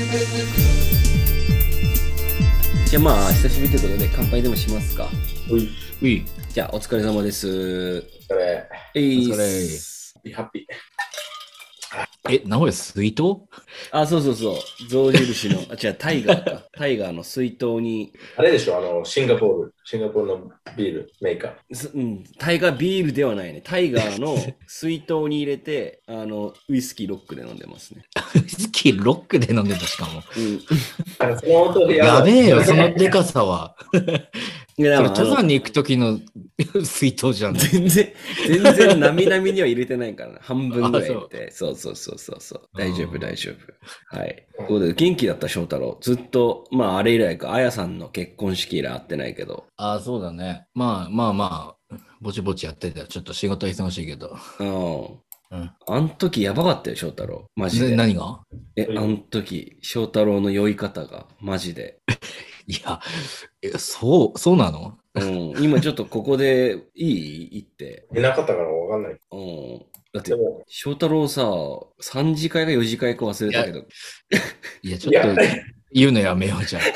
じゃあまあ久しぶりということで乾杯でもしますか。 うい。 うい。 じゃあお疲れ様です。 お疲れ。 お疲れ。 ハッピー。 名古屋水筒？ あ、そうそうそう。象印の、違う、タイガーか。タイガーの水筒に、 あれでしょ、シンガポールのビールメーカー。 タイガービールではないね。タイガーの水筒に入れて、ウイスキーロックで飲んでますね。 ウイスキーロックで飲んでた、しかも。 その音でやべえよ、そのでかさは。 いやそれ登山に行くときの水筒じゃん。 全然なみなみには入れてないからな。半分ぐらい入れて。そう。大丈夫。はい。ということで、元気だった翔太郎。ずっと、まああれ以来か、あやさんの結婚式以来会ってないけど。 あ、そうだね。まあ、ぼちぼちやってたよ。ちょっと仕事忙しいけど。 あん時やばかったよ、翔太郎。マジで。 何が？ あん時、翔太郎の酔い方が、マジで。 いや、そうなの？ 今ちょっとここで言って。 いなかったからわかんない。 だって、翔太郎さ、3次会か4次会か忘れたけど。 いや、ちょっと言うのやめようじゃん。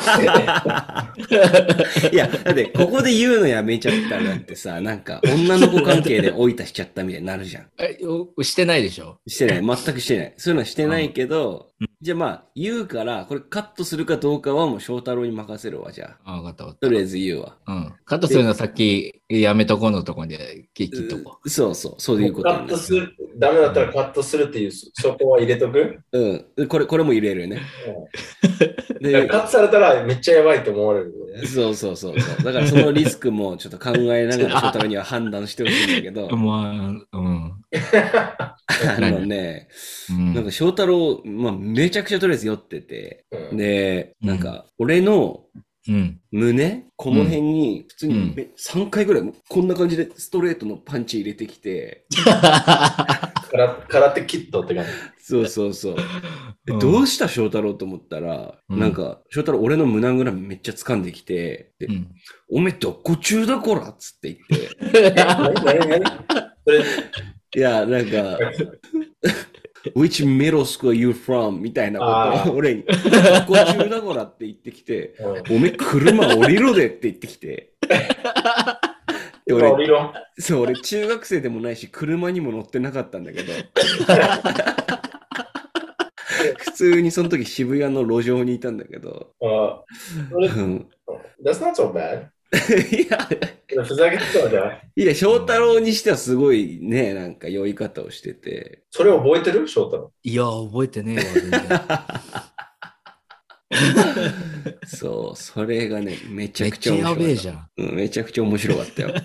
いや、だってここで言うのやめちゃったらだってさ、なんか女の子関係で老いたしちゃったみたいになるじゃん。 してないでしょ？ してない。全くしてない。そういうのはしてないけど、じゃあまあ、言うから、これカットするかどうかはもう翔太郎に任せるわ、じゃあ。 わかった。 とりあえず言うわ。 カットするのはさっきやめとこうのとこで切っとこう。そういうことカットする、ダメだったらカットするっていう、そこは入れとく？ これも入れるよね。 でカットされたらめっちゃやばいと思われる。 そう。だからそのリスクもちょっと考えながら翔太郎には判断してほしいんだけど。なんか翔太郎、めちゃくちゃとりあえず酔ってて、で、なんか俺の胸、この辺に普通に3回ぐらいこんな感じでストレートのパンチ入れてきて、 空手キットって感じ。 そう。どうした翔太郎と思ったら、なんか翔太郎俺の胸ぐらめっちゃ掴んできて、おめえどこ中だこらっつって言って。 何いや、なんか、Which middle school are you from? みたいなことを俺に、どこ中だこらって言ってきて、おめえ車降りろでって言ってきて。俺中学生でもないし、車にも乗ってなかったんだけど、普通にその時渋谷の路上にいたんだけど、 That's not so bad. いや、 ふざけてたじゃん。 いや、翔太郎にしてはすごいね、なんか酔い方をしてて。 それ覚えてる？翔太郎。 いや、覚えてねえわ。そう、それがね、めちゃくちゃ面白かった。 めっちゃやべえじゃん。 めちゃくちゃ面白かったよ。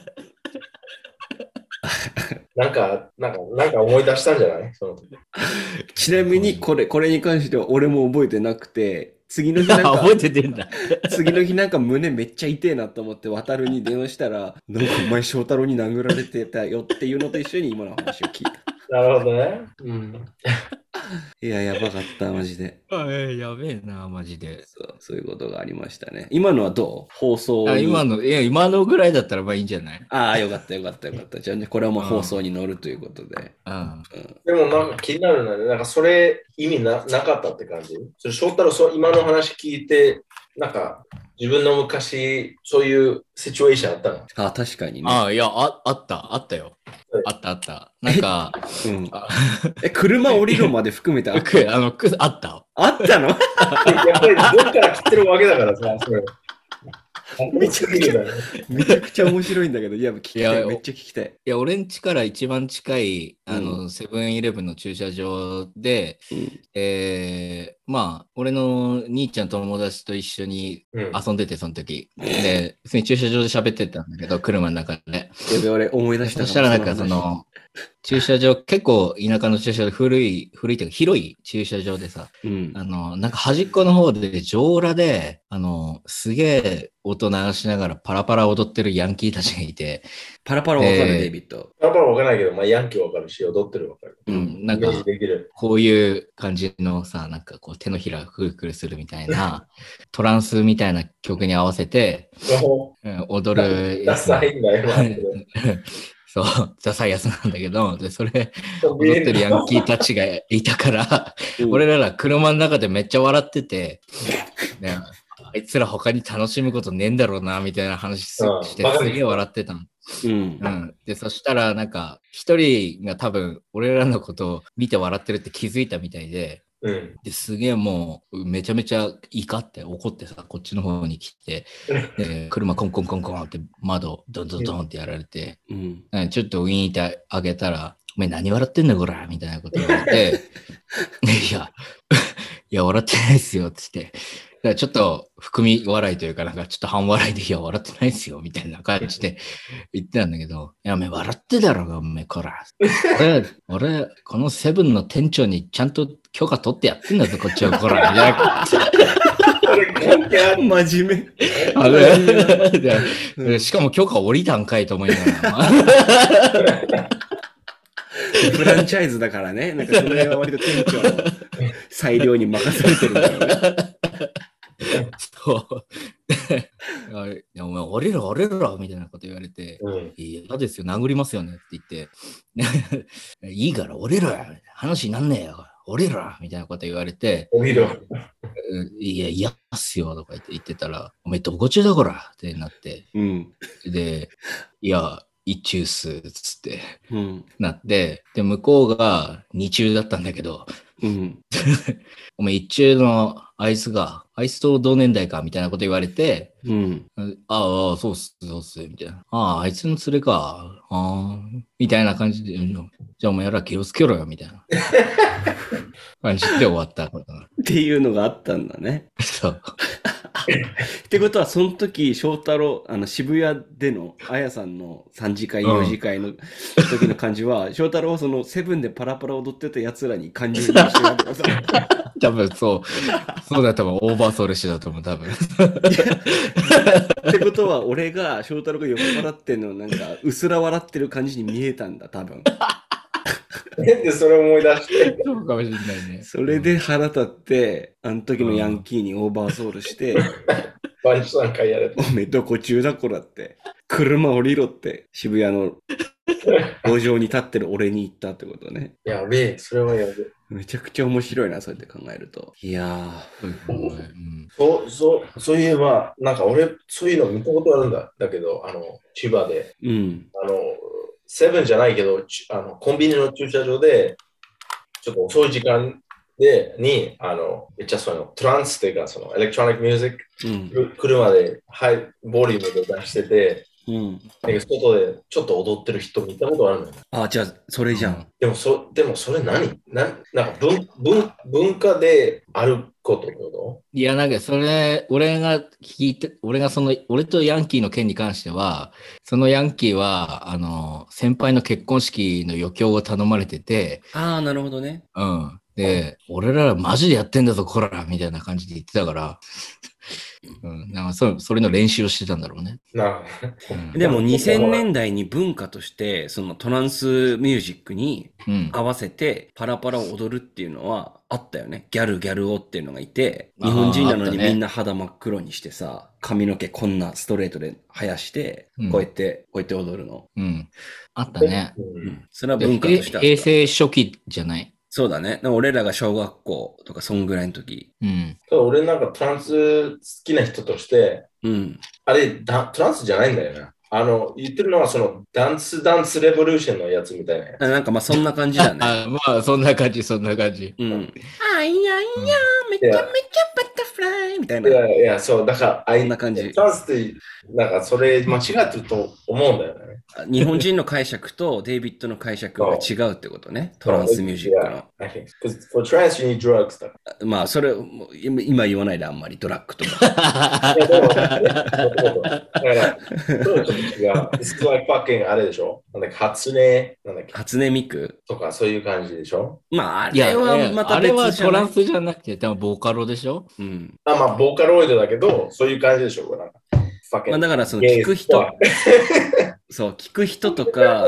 なんか思い出したんじゃない？その時。 ちなみにこれに関しては俺も覚えてなくて、次の日なんか覚えててんだ。 次の日なんか胸めっちゃ痛えなと思って渡るに電話したら、なんかお前翔太郎に殴られてたよっていうのと一緒に今の話を聞いた。 なるほどね。 いや、やばかった、マジで。 やべえな、マジで。 そういうことがありましたね。今のはどう？放送に。 今のぐらいだったらまあいいんじゃない？ よかった。じゃあ、これはもう放送に乗るということで。 でもなんか気になるのはね、なんかそれ意味なかったって感じ？それ翔太郎、今の話聞いて、なんか自分の昔、そういうシチュエーションあったの？ 確かにね。 いや、あったよ。あった。なんか、 車降りるまで含めてあった？ あった。 あったの？ やっぱりどっから来てるわけだからさ、それ。 めちゃくちゃ面白いんだけど、いや、めっちゃ聞きたい。 いや、俺ん家から一番近い、セブンイレブンの駐車場で、まあ、俺の兄ちゃん友達と一緒に遊んでて、その時。で、普通に駐車場で喋ってたんだけど、車の中で。 やべ、俺思い出した。 そしたらなんか駐車場、結構田舎の駐車場、古いというか広い駐車場でさ、なんか端っこの方で上裸で、すげえ音流しながらパラパラ踊ってるヤンキーたちがいて。 パラパラわかる、デイビッド。 パラパラわかんないけど、まあヤンキーわかるし、踊ってるわかる。 なんか、こういう感じのさ、なんかこう手のひらくるくるするみたいな、トランスみたいな曲に合わせて、踊る。 ダサいんだよ。 そう、ザ・サイアスなんだけど、で、それ、踊ってるヤンキーたちがいたから、俺ら車の中でめっちゃ笑ってて、ね、あいつら他に楽しむことねえんだろうな、みたいな話してすげえ笑ってたの。で、そしたらなんか、一人が多分、俺らのことを見て笑ってるって気づいたみたいで、ですげえもうめちゃめちゃ怒って怒ってさ、こっちの方に来て、車コンコンコンコンって窓ドンドンドンってやられて、ちょっとウィーンってあげたら、お前何笑ってんだこらみたいなこと言われて、いや、笑ってないっすよって言って、だからちょっと含み笑いというか、なんかちょっと半笑いで、いや、笑ってないっすよみたいな感じで言ってたんだけど、いや、お前笑ってだろが、お前こら。俺、このセブンの店長にちゃんと許可取ってやってんだぞ、こっちはこら。みたいな。真面目。しかも許可降りたんかいと思いながら。 フランチャイズだからね。なんかその辺は割と店長の裁量に任されてるんだろうね。 そう。いや、お前、折れろみたいなこと言われて、嫌ですよ、殴りますよねって言って、いいから折れろよ、話になんねえよ、折れろみたいなこと言われて、いや、嫌っすよとか言ってたら、お前、どこ中だこらってなって、で、いや、一中っすつって、なって、で、向こうが二中だったんだけど、お前一中のあいつと同年代かみたいなこと言われて、ああ、そうっす、みたいな。あいつの連れか。みたいな感じで、じゃあお前ら気をつけろよ、みたいな感じで終わった。 っていうのがあったんだね。 そう。 ってことは、その時、翔太郎、渋谷でのあやさんの3次会、4次会の時の感じは、翔太郎はそのセブンでパラパラ踊ってた奴らに感情移入してるわけださ。 多分そうだ、多分オーバーソウルしだと思う、多分。 ってことは、俺が翔太郎が酔っ払ってんのなんか、うすら笑ってる感じに見えたんだ、多分。 で、それ思い出して。 そうかもしれないね。 それで腹立って、あの時のヤンキーにオーバーソウルして、 バンチ3回やれおめえどこ中だこらって、車降りろって、渋谷の路上に立ってる俺に言ったってことね。 やべえ、それはやべえ。 めちゃくちゃ面白いな、そうやって考えると。いやそういえば、なんか俺、そういうの見たことあるんだ。だけど、千葉で。セブンじゃないけど、コンビニの駐車場で、ちょっと遅い時間に、めっちゃそのトランスっていうか、そのエレクトロニックミュージック、車でハイボリュームで出してて、なんか外でちょっと踊ってる人見たことあるのよ。 じゃあ、それじゃん。 でもそれなんか文化であることってこと？ いや、なんかそれ、俺が俺とヤンキーの件に関しては、そのヤンキーは、先輩の結婚式の余興を頼まれてて。 なるほどね。 で、俺らマジでやってんだぞ、こらみたいな感じで言ってたから、なんかそれの練習をしてたんだろうね。 でも2000年代に文化としてそのトランスミュージックに合わせてパラパラを踊るっていうのはあったよね。ギャルをっていうのがいて、日本人なのにみんな肌真っ黒にしてさ、髪の毛こんなストレートで生やして、こうやって踊るの。 あったね。 それは文化としてあった。 平成初期じゃない？ そうだね。俺らが小学校とかそんぐらいの時。 俺なんかトランス好きな人として、あれトランスじゃないんだよな。言ってるのはそのダンスレボリューションのやつみたいなやつ。 なんかまあそんな感じだね。 そんな感じ。 いや、めちゃめちゃバタフライみたいな。 いや、そう、だから、 そんな感じ。 トランスって、なんかそれ間違ってると思うんだよね。 日本人の解釈とデイビッドの解釈が違うってことね。トランスミュージックの。 For trance, you need drugs. まあ、それ、今言わないであんまりドラッグとか。 そうちょっと違う。It's like fucking あれでしょ？初音ミクとかそういう感じでしょ？ まあ、あれはまた別じゃない。 あれはトランスじゃなくて、でもボーカロでしょ？ まあ、ボーカロイドだけど、そういう感じでしょ？ まあ、だからその聞く人そう、聞く人とか、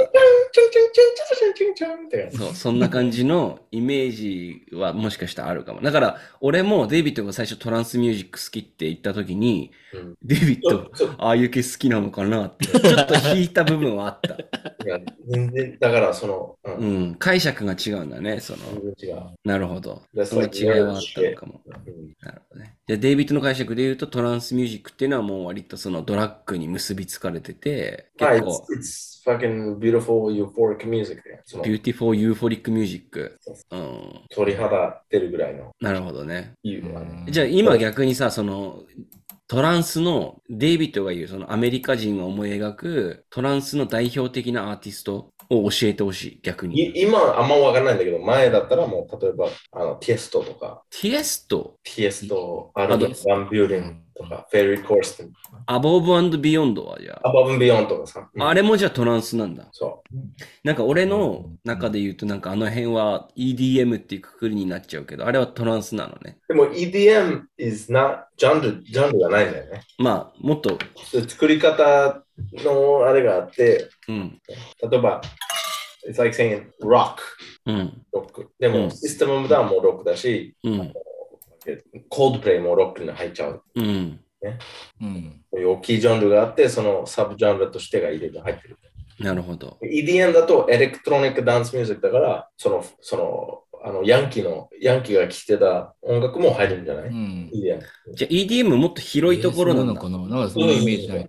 そう、そんな感じのイメージはもしかしたらあるかも。だから、俺もデイビッドが最初トランスミュージック好きって言った時に、デイビッド、ああいう系好きなのかなって、ちょっと引いた部分はあった。 いや、全然、だから解釈が違うんだね、なるほど。その違いはあったのかも。なるほどね。で、デイビッドの解釈で言うと、トランスミュージックっていうのはもう割とそのドラッグに結びつかれてて、 結構。It's fucking beautiful, euphoric music で。 beautiful, euphoric music。 鳥肌出るぐらいの。 なるほどね。じゃあ今逆にさ、その、トランスの、デイビッドが言う、そのアメリカ人が思い描くトランスの代表的なアーティストを教えてほしい、逆に。 今あんまわからないんだけど、前だったらもう、例えば、ティエストとか。 ティエスト、 アルバム・ワン・ビューリングとか、フェリー・コーストン。 アボブ&ビヨンドはじゃあ。 アボブ・ビヨンドとかさ。 あれもじゃあトランスなんだ。 そう。 なんか俺の中で言うと、なんかあの辺は EDM っていうくくりになっちゃうけど、あれはトランスなのね。 でも EDM is not ジャンルがないんだよね。 まあ、もっと。 作り方のあれがあって、例えば、It's like saying rock、ロック。でも、システムオブダウンもロックだし、コールドプレイもロックに入っちゃう。こういう大きいジャンルがあって、そのサブジャンルとしてが入ってる。 なるほど。 EDM だとエレクトロニックダンスミュージックだから、ヤンキーが聴いてた音楽も入るんじゃない、EDM。 じゃあ EDM もっと広いところなのかな。なんかそのイメージない。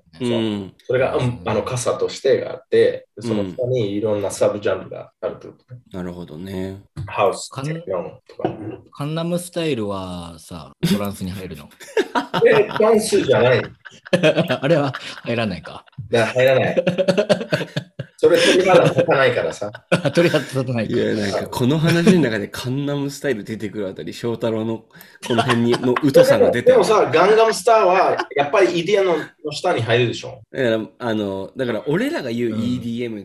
それが、傘としてがあって、その下にいろんなサブジャンルがあるということね。 なるほどね。 ハウス、テクノとか。 カンナムスタイルはさ、トランスに入るの？ トランスじゃない。 あれは入らないか。 入らない。それ鳥肌立たないからさ。 鳥肌立たないか。 いや、なんかこの話の中でカンナムスタイル出てくるあたり、翔太郎のこの辺の疎さが出てる。 でもさ、ガンガムスターはやっぱり EDM の下に入るでしょ。 だから俺らが言う EDM って、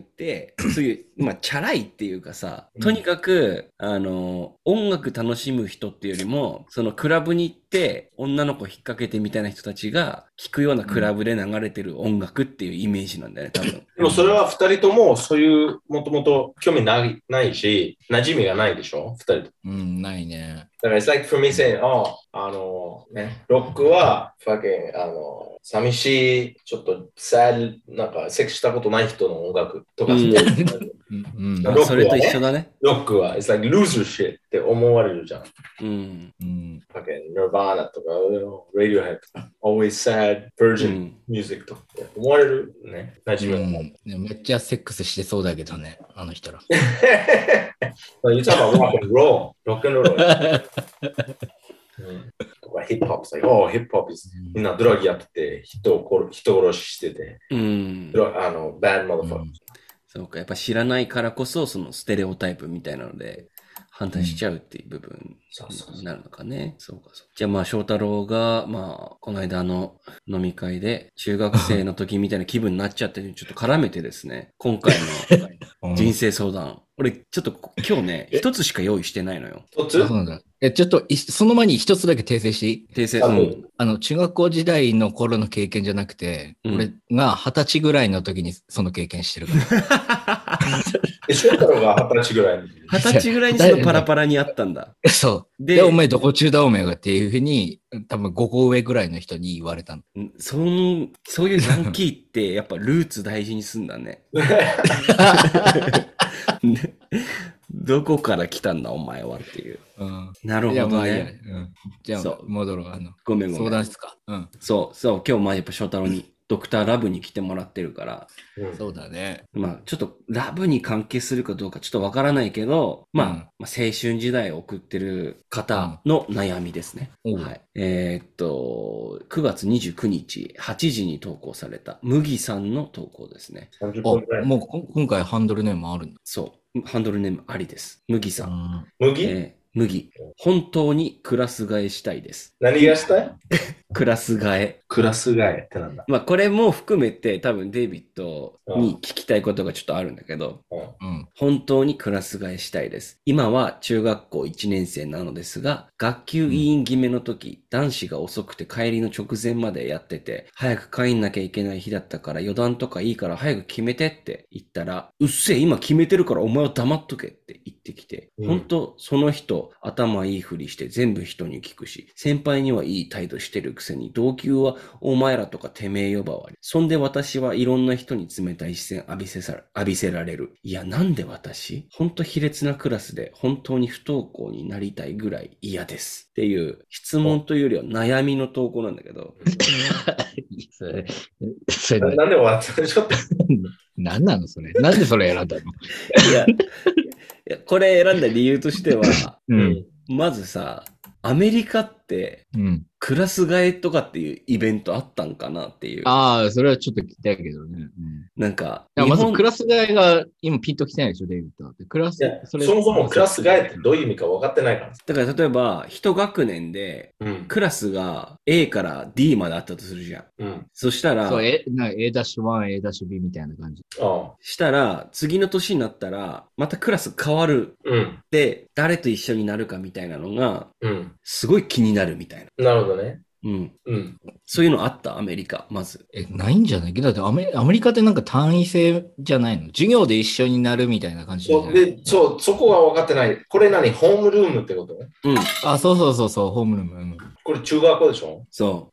そういう、チャラいっていうかさ、とにかく、音楽楽しむ人っていうよりも、そのクラブに行って、女の子引っ掛けてみたいな人たちが聴くようなクラブで流れてる音楽っていうイメージなんだよね、多分。 でもそれは二人ともそういうもともと興味ないし、馴染みがないでしょ、二人と。 ないね。 だから、it's like for me saying, ロックは、寂しい、ちょっとなんかセックスしたことない人の音楽とか、 それと一緒だね。 ロックは、it's like loser shit って思われるじゃん。Nirvana とか、Radiohead とか、always sad virgin music とか思われるね。馴染みめっちゃセックスしてそうだけどね、あの人ら。 You talk about rock and roll. Rock and roll. とかヒップホップ、ヒップホップみんなドラッグやってて、人殺ししてて、bad motherfucker。 そうか、やっぱ知らないからこそ、そのステレオタイプみたいなので、反対しちゃうっていう部分になるのかね。そうか。じゃあ翔太郎が、この間の飲み会で、中学生の時みたいな気分になっちゃって、ちょっと絡めてですね、今回の人生相談。俺、ちょっと今日ね、一つしか用意してないのよ。 一つ？ そうなんだ。ちょっと、その前に一つだけ訂正していい？ 訂正。 中学校時代の頃の経験じゃなくて、俺が20歳ぐらいの時にその経験してるから。 翔太郎が20歳ぐらいに。 20歳ぐらいにそのパラパラにあったんだ。 そう。で、お前どこ中だお前がっていうふうに、多分5個上ぐらいの人に言われたの。 そういうヤンキーってやっぱルーツ大事にすんだね。どこから来たんだお前はっていう。なるほどね。 じゃあ戻ろう。 ごめん。 相談室か。 そう、今日やっぱ翔太郎にドクターラブに来てもらってるから。 そうだね。 ちょっとラブに関係するかどうかちょっとわからないけど、青春時代を送ってる方の悩みですね。はい。9月29日8時に投稿された麦さんの投稿ですね。 もう今回ハンドルネームあるんだ。 そう。ハンドルネームありです。麦さん。 麦。 本当にクラス替えしたいです。 何がしたい？ クラス替え。 クラス替えってなんだ。 まあこれも含めて多分デイビッドに聞きたいことがちょっとあるんだけど、本当にクラス替えしたいです。今は中学校1年生なのですが、学級委員決めの時、男子が遅くて帰りの直前までやってて、早く帰んなきゃいけない日だったから余談とかいいから早く決めてって言ったら、うっせえ今決めてるからお前は黙っとけって言ってきて、本当その人頭いいふりして全部人に聞くし、先輩にはいい態度してるくせに同級はお前らとかてめえ呼ばわり。そんで私はいろんな人に冷たい視線浴びせられる。いやなんで私ほんと卑劣なクラスで本当に不登校になりたいぐらい嫌です。っていう質問というよりは悩みの投稿なんだけど。 それなんで終わったのちょっと。 何なのそれ。なんでそれ選んだのいや、これ選んだ理由としては、まずさ、アメリカって、クラス替えとかっていうイベントあったんかなっていう。 ああ、それはちょっと聞きたいけどね。 なんか、 まずクラス替えが今ピンときてないでしょ、デイビッド。クラス、 そもそもクラス替えってどういう意味か分かってないから。 だから例えば、一学年で、クラスが A から D まであったとするじゃん。そしたら、 そう、A-1、A-B みたいな感じ。 したら、次の年になったら、またクラス変わる。で、誰と一緒になるかみたいなのが、すごい気になるみたいな。なるほどね。 そういうのあったアメリカ、まず。 ないんじゃないけど、だってアメリカってなんか単位制じゃないの授業で一緒になるみたいな感じで、そこは分かってない。これ何ホームルームってことね。 あ、そう、ホームルーム。 これ中学校でしょそう。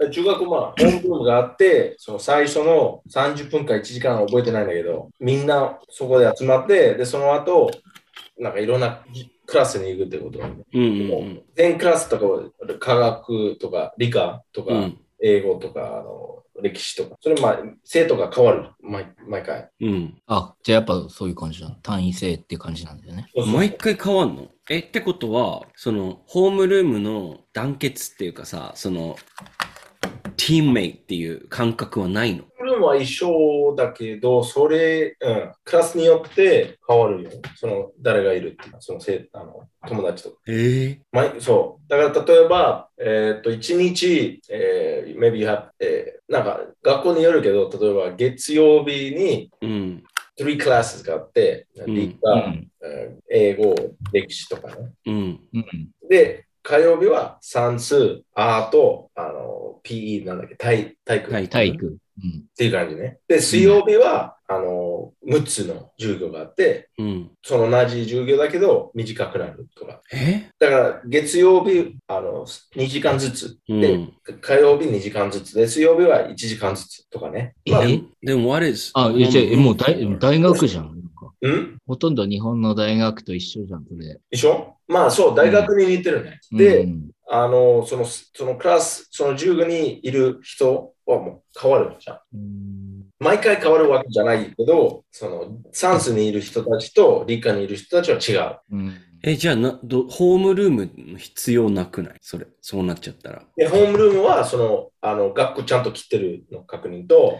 中学校ホームルームがあって、その最初の30分か1時間は覚えてないんだけど、みんなそこで集まって、で、その後、なんかいろんなクラスに行くってこと。全クラスとか、科学とか理科とか、英語とか、歴史とか。それ生徒が変わる。毎回。 あ、じゃあやっぱそういう感じだ。単位制っていう感じなんだよね。 毎回変わんの？ってことは、その、ホームルームの団結っていうかさ、その、チームメイっていう感覚はないの？ ルームは一緒だけど、それ、クラスによって変わるよ。その、誰がいるっていう、その友達とか。そう。だから、例えば、1日、maybe you have、なんか、学校によるけど、例えば、月曜日に、3 classes があって、理科、英語、歴史とかね。で、火曜日は算数、アート、PE なんだっけ、体育。っていう感じね。で、水曜日は、6つの授業があって、その同じ授業だけど短くなるとか。だから、月曜日、2時間ずつ。で、火曜日2時間ずつ。で、水曜日は1時間ずつとかね。 でも、what is? もう大学じゃん。ほとんど日本の大学と一緒じゃん、それ。 一緒？そう、大学に似てるね。で、そのクラス、その授業にいる人はもう変わるじゃん。毎回変わるわけじゃないけど、その算数にいる人たちと理科にいる人たちは違う。 じゃあホームルームの必要なくない？そうなっちゃったら。 で、ホームルームは、学校ちゃんと来てるの確認と、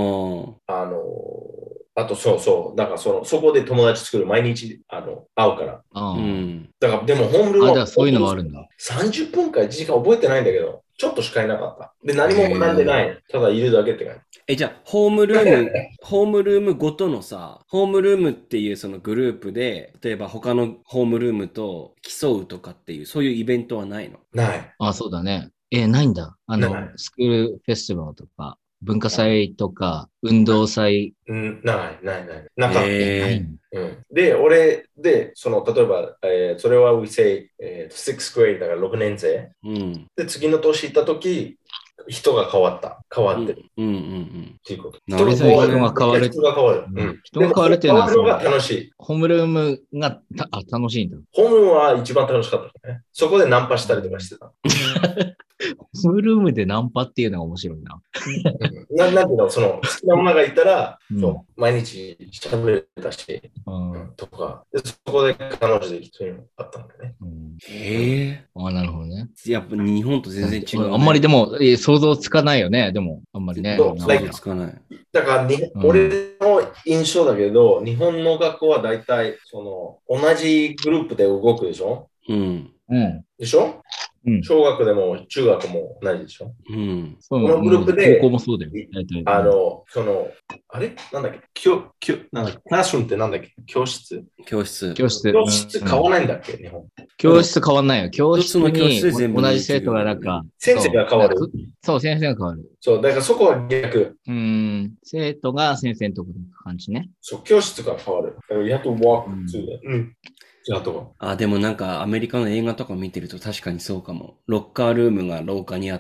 あと、だからそこで友達作る、毎日、会うから。だから、でも、ホームルームは、 そういうのもあるんだ。 30分か1時間覚えてないんだけど、ちょっとしかいなかった。で、何も学んでない。ただいるだけって感じ。 じゃあ、ホームルームごとのさ、ホームルームっていうそのグループで、例えば他のホームルームと競うとかっていう、そういうイベントはないの？ ない。 あ、そうだね。ないんだ。スクールフェスティバルとか。文化祭とか、運動祭。 ない。なかった。で、例えば、それは、we say、6th grade だから6年生。で、次の年行った時、人が変わってる。っていうこと。 人が変わる。 人が変わる。 人が変わるっていうのは、 変わるのが楽しい。 ホームルームが楽しいんだ。 ホームルームは一番楽しかったね。そこでナンパしたりとかしてた。 ホームルームでナンパっていうのが面白いな。 なんていうの、その、好きな女がいたら、毎日喋れたし、とか、そこで彼女できてるのがあったんだね。 なるほどね。 やっぱ日本と全然違う。 あんまりでも、想像つかないよね。でも、あんまりね。 想像つかない。 だから、俺の印象だけど、日本の学校は大体、同じグループで動くでしょ？でしょ？ 小学でも中学も同じでしょ。 うん。 このグループで、 高校もそうだよ。 あれなんだっけクラスルームってなんだっけ教室買わないんだっけ日本。 教室変わんないよ。教室の教に室で全部同じ生徒がなんか。 先生が変わる。 そう、先生が変わる。 そう、だからそこは逆。 生徒が先生のところに行く感じね。 そう、教室が変わる。You have to walk to でもなんかアメリカの映画とか見てると確かにそうかも。ロッカールームが廊下にあって、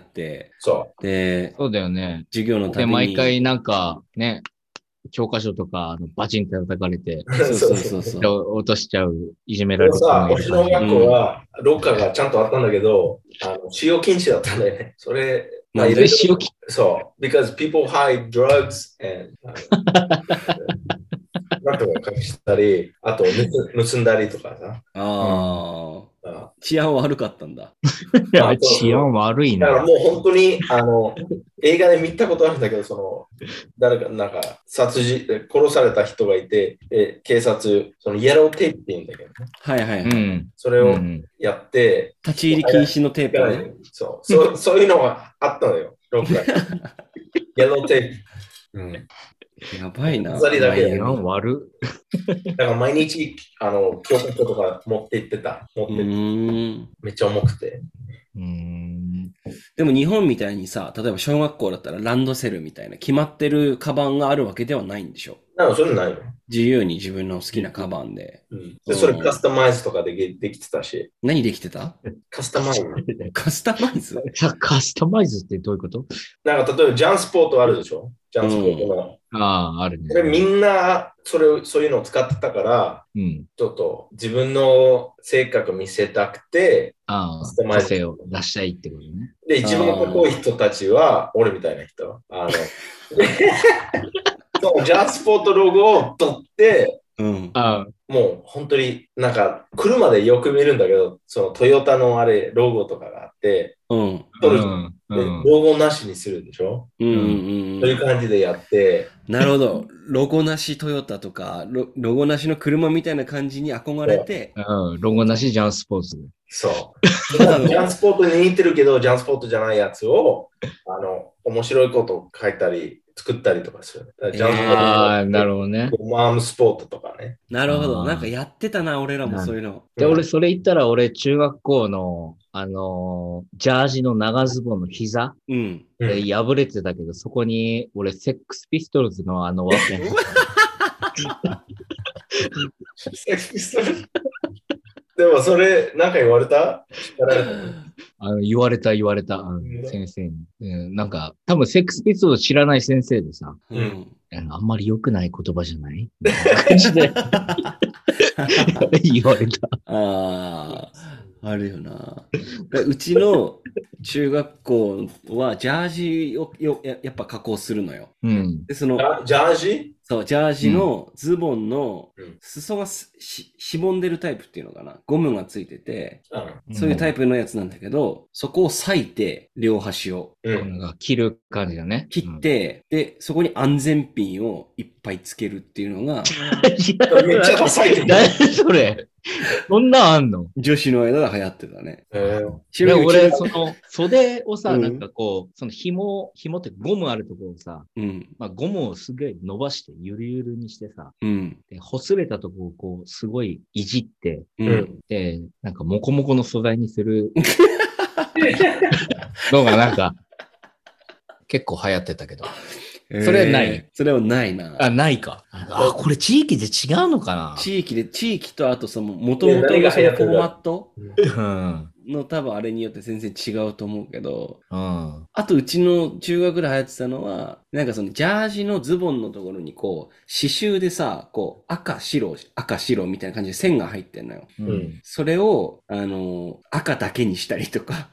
で、 そうだよね。 授業のたびに。 で、毎回なんかね、教科書とかバチンって叩かれて、落としちゃう、いじめられる。 うちの学校はロッカーがちゃんとあったんだけど、使用禁止だったんだよね。それ、 使用禁止そう、because people hide drugs and なんとか隠したり、あと盗んだりとかさ。 治安悪かったんだ。 治安悪いな。 だからもう本当に映画で見たことあるんだけど、誰かなんか殺された人がいて、警察、イエローテープって言うんだけどね。 はいはいはい。 それをやって、 立ち入り禁止のテープね。 そういうのがあったのよ、ロッカーに。イエローテープ。 やばいな。 治安悪。 だから毎日、教科書とか持って行ってた。めっちゃ重くて。 でも日本みたいにさ、例えば小学校だったらランドセルみたいな決まってるカバンがあるわけではないんでしょ。 それないの。 自由に自分の好きなカバンで。 それカスタマイズとかできてたし。 何できてた？ カスタマイズ。 カスタマイズ？ カスタマイズってどういうこと？ なんか例えばジャンスポートあるでしょ？ジャンスポートの。 あるね。 みんなそういうのを使ってたから、ちょっと自分の性格見せたくて、 個性を出したいってことね。 で、一番かっこいい人たちは、俺みたいな人。ジャンスポートロゴを取って、もう本当になんか車でよく見るんだけど、トヨタのロゴとかがあって、ロゴなしにするでしょ。そういう感じでやって。 なるほど。ロゴなしトヨタとか、ロゴなしの車みたいな感じに憧れて。 ロゴなしジャンスポーツ。 そう。ジャンスポートに似てるけど、ジャンスポートじゃないやつを、面白いことを書いたり、作ったりとかする。 なるほどね。 マームスポートとかね。 なるほど。なんかやってたな、俺らもそういうの。 で、俺、それ言ったら、俺、中学校の、ジャージの長ズボンの膝、破れてたけど、そこに、俺、セックスピストルズのワッペン。 セックスピストルズでもそれ、なんか言われた？ 言われた、先生に。なんか、多分セックスピストルズ知らない先生でさ、あんまり良くない言葉じゃないみたいな感じで言われた。 あるよな。うちの中学校はジャージをやっぱ加工するのよ。でジャージ？ そう、ジャージのズボンの裾がしぼんでるタイプっていうのかな。ゴムがついてて、そういうタイプのやつなんだけど、そこを裂いて、両端を。 切る感じだね。 切って、で、そこに安全ピンをいっぱいつけるっていうのが。 めっちゃダサい。 何それ？そんなんあんの？ 女子の間で流行ってたね。 俺、袖をさ、なんかこう、紐ってゴムあるところをさ、ゴムをすげえ伸ばして、ゆるゆるにしてさ、で、擦れたとこをこう、すごいいじって、で、なんかモコモコの素材にするのがなんか、結構流行ってたけど。それはない。 それはないな。 ないか。これ地域で違うのかな？ 地域とあと元々のそのフォーマットの多分あれによって全然違うと思うけど、あとうちの中学で流行ってたのは、なんかジャージのズボンのところにこう、刺繍でさ、こう、赤白みたいな感じで線が入ってんのよ。それを、赤だけにしたりとか。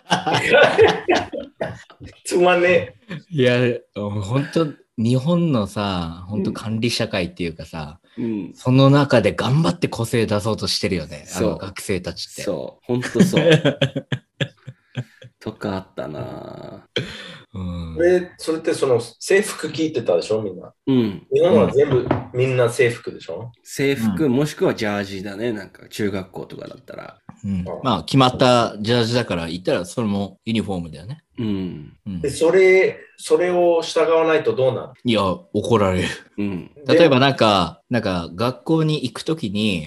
つまんねえ。いや、本当日本のさ、本当管理社会っていうかさ、その中で頑張って個性出そうとしてるよね、学生たちって。 そう、本当そう。とかあったなそれって制服着てたでしょみんな。日本は全部みんな制服でしょ？ 制服、もしくはジャージだね。なんか中学校とかだったら。 まあ、決まったジャージだから言ったら、それもユニフォームだよね。 で、それを従わないとどうなる？ いや、怒られる。例えばなんか学校に行くときに、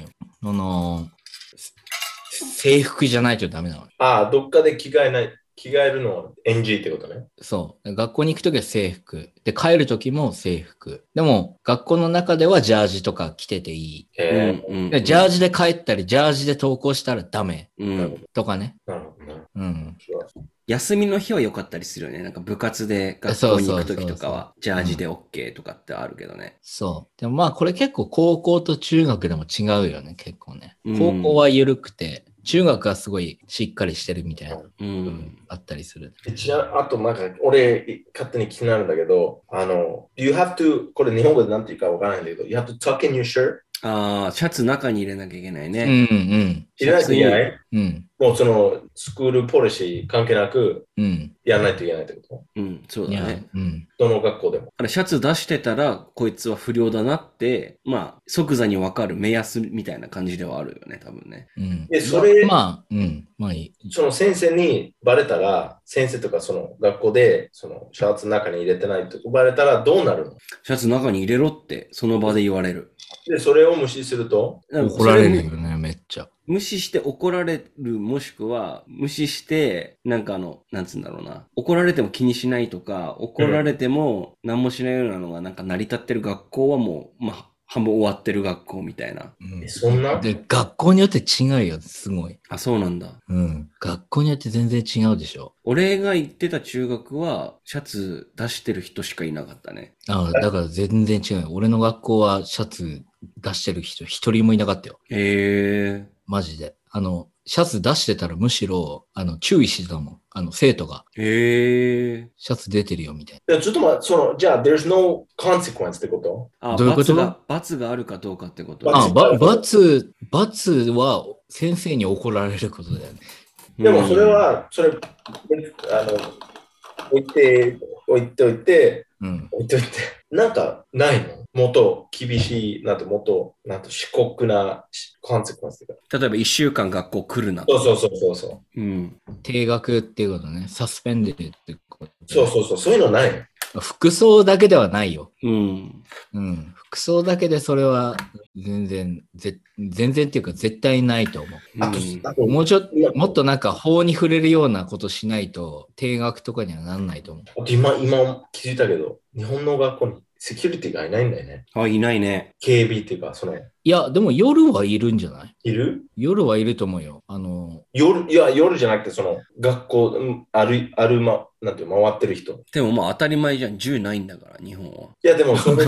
制服じゃないとダメなの。 どっかで着替えるのは NG ってことね。 そう。学校に行くときは制服。で、帰るときも制服。でも、学校の中ではジャージとか着てていい。でジャージで帰ったり、ジャージで登校したらダメ。とかね。 なるほどね。 休みの日は良かったりするよね。なんか部活で学校に行くときとかは、ジャージで OK とかってあるけどね。 そう。でもまあ、これ結構高校と中学でも違うよね、結構ね。高校は緩くて、中学はすごいしっかりしてるみたいな、あったりする。 あとなんか、俺、勝手に気になるんだけど、you have to、これ日本語でなんて言うかわからないんだけど、you have to tuck in your shirt。 シャツ中に入れなきゃいけないね。 入れなきゃいけない？もうそのスクールポリシー関係なくやらないといけないってこと？ そうだね。 どの学校でも。 シャツ出してたら、こいつは不良だなって、まあ、即座にわかる目安みたいな感じではあるよね、多分ね。 で、それ、 まあいい。 その先生にバレたら、先生とかその学校で、そのシャツの中に入れてないとバレたらどうなるの？ シャツ中に入れろって、その場で言われる。 で、それを無視すると怒られるよね、めっちゃ。 無視して怒られる、もしくは、無視して、なんかなんつうんだろうな。怒られても気にしないとか、怒られても何もしないようなのがなんか成り立ってる学校はもう、まあ、半分終わってる学校みたいな。 そんな？ で、学校によって違うよ、すごい。 そうなんだ。 学校によって全然違うでしょ。 俺が行ってた中学は、シャツ出してる人しかいなかったね。 だから全然違うよ。俺の学校はシャツ出してる人一人もいなかったよ。マジで。シャツ出してたらむしろ、注意してたもん。生徒が。シャツ出てるよ、みたいな。ちょっと待って、じゃあ、there's no consequence ってこと？ どういうこと？ 罰があるかどうかってこと？ 罰は先生に怒られることだよね。 でも、それ、置いておいて、なんかないの？もっと厳しい、もっと深刻なコンセクエンス。 例えば1週間学校来るな。 そう。 停学っていうことね。サスペンデッドってこと。 そういうのないの？ 服装だけではないよ。服装だけでそれは全然っていうか絶対ないと思う。もっとなんか法に触れるようなことしないと定額とかにはならないと思う。 今気づいたけど、日本の学校にセキュリティがいないんだよね。 いないね。 警備っていうか、 いや、でも夜はいるんじゃない？ いる？ 夜はいると思うよ。 夜じゃなくて、学校、回ってる人。 でもまあ当たり前じゃん。銃ないんだから、日本は。 いや、でもそれ、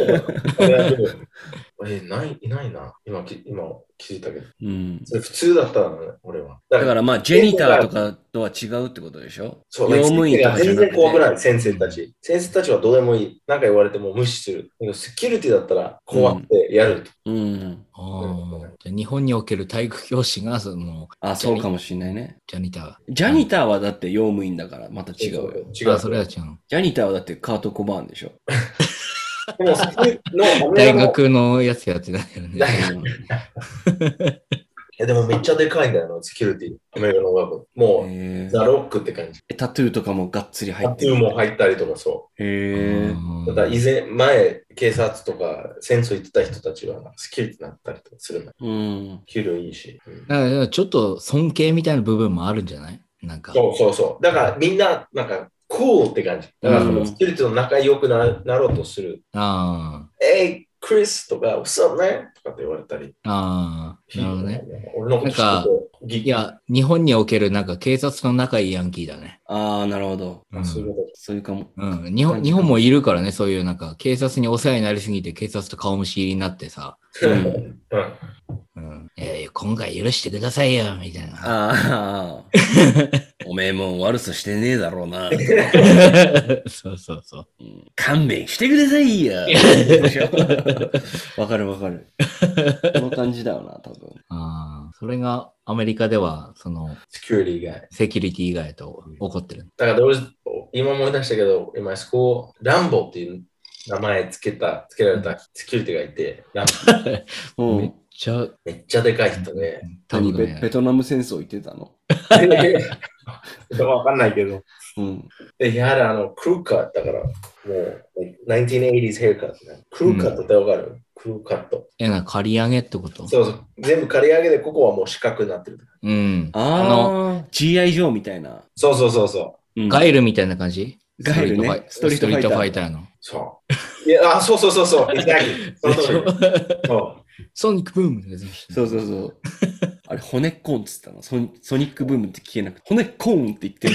いないな。今気づいたけど。それ普通だったのね、俺は。 だからまあ、ジェニターとかとは違うってことでしょ？ そう、用務員とか全然怖くない、先生たち。先生たちはどうでもいい。なんか言われても無視する。セキュリティだったら怖くてやると。 日本における体育教師がそうかもしれないね。 ジャニターはだって用務員だからまた違うよ。 それは違う。 ジャニターはだってカート・コバーンでしょ。 でも大学のやつやってないよね。 でもめっちゃでかいんだよ、セキュリティ。アメリカの学校。もう、ザ・ロックって感じ。 タトゥーとかもがっつり入ってる。 タトゥーも入ったりとかそう。ただ前、警察とか戦争行ってた人たちはセキュリティになったりとかするんだ。給料いいし。 だからちょっと尊敬みたいな部分もあるんじゃない？なんか。 そう。だからみんな、なんか、クールって感じ。だからそのセキュリティの仲良くなろうとする。クリスとか、What's up, man? とかって言われたり。 なるほどね。 俺のこと知っていや、日本におけるなんか警察の仲いいヤンキーだね。 なるほど。 そういうかも。 日本もいるからね、そういうなんか警察にお世話になりすぎて警察と顔見知りになってさ。今回許してくださいよ、みたいな。 おめえも悪さしてねえだろうな。 そう。 勘弁してくださいよ。わかる。この感じだよな、多分。 それがアメリカでは、 セキュリティ以外と起こってる。 だから今思い出したけど、今、ランボっていう名前つけられたセキュリティがいて、 めっめっちゃでかい人ね。 何、ベトナム戦争行ってたの？ わかんないけど。 うん。 で、やはりクルーカットだから、もう、1980s ヘアカットね。クルーカットってわかる？クルーカット。 刈り上げってこと？ そうそう。全部刈り上げで、ここはもう四角になってる。 うん。 GI ジョーみたいな。 そうそう。 ガイルみたいな感じ？ ガイルね。 ストリートファイターの。 そう。いや、そう。Exactly。そう。 ソニックブーム。 そう。あれ、骨っこんっつったの。ソニックブームって聞けなくて、骨っこんって言ってる。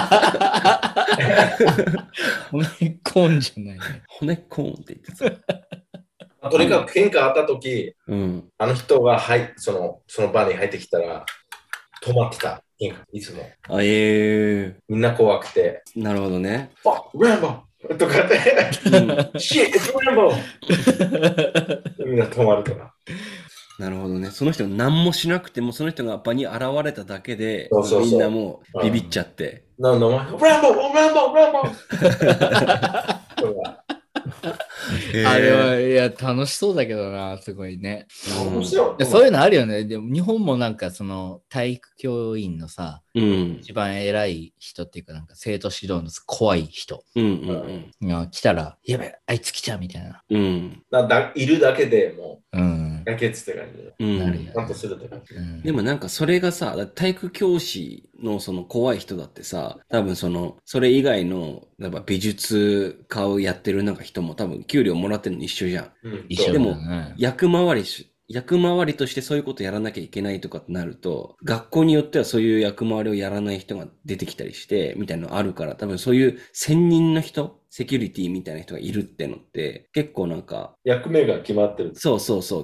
骨っこんじゃないね。 骨っこんって言ってた。 とにかく喧嘩あったとき、あの人がその場に入ってきたら、止まってた。いつも。みんな怖くて。 なるほどね。 ランボーとかって、シッ、ランボーみんな止まるとか。 なるほどね。その人が何もしなくても、その人が場に現れただけで、 そうみんなもうビビっちゃって。 ランボーあれは、いや、楽しそうだけどな、すごいね。そういうのあるよね。でも日本もなんか体育教員のさ、一番偉い人っていうか、なんか生徒指導の怖い人が来たら、やべ、あいつ来ちゃうみたいな。 いるだけでもう、やけつって感じなるよ。 でもなんかそれがさ、体育教師のその怖い人だってさ、多分それ以外の、例えば美術家をやってるなんか人も多分給料もらってるの一緒じゃん。 一緒だね。 でも、役回りとしてそういうことやらなきゃいけないとかってなると、学校によってはそういう役回りをやらない人が出てきたりして、みたいなのあるから、多分そういう専任の人、セキュリティみたいな人がいるってのって、結構なんか、 役目が決まってる。 そう。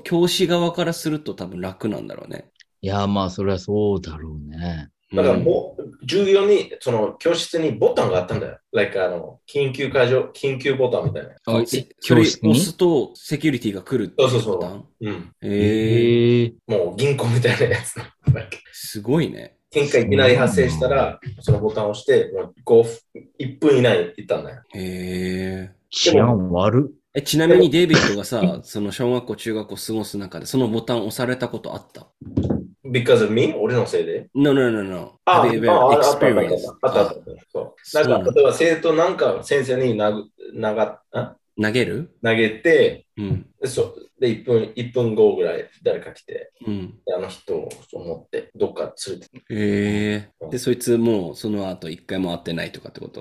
教師側からすると多分楽なんだろうね。 いや、まあ、それはそうだろうね。 だから授業に、教室にボタンがあったんだよ。緊急ボタンみたいな。 それ押すとセキュリティが来るっていうボタン？ もう銀行みたいなやつ。 すごいね。 喧嘩いきなり発生したら、そのボタンを押して、1分以内行ったんだよ。 治安悪っ。 ちなみにデイビッドがさ、その小学校、中学校過ごす中で、そのボタン押されたことあった？ Because of me? 俺のせいで No. Have you ever experienced? あった。そう。なんか、例えば生徒なんか先生に投げる？ 投げて、で、1分後ぐらい誰か来て、あの人を思ってどっか連れて。 で、そいつもうその後一回も会ってないとかってこと？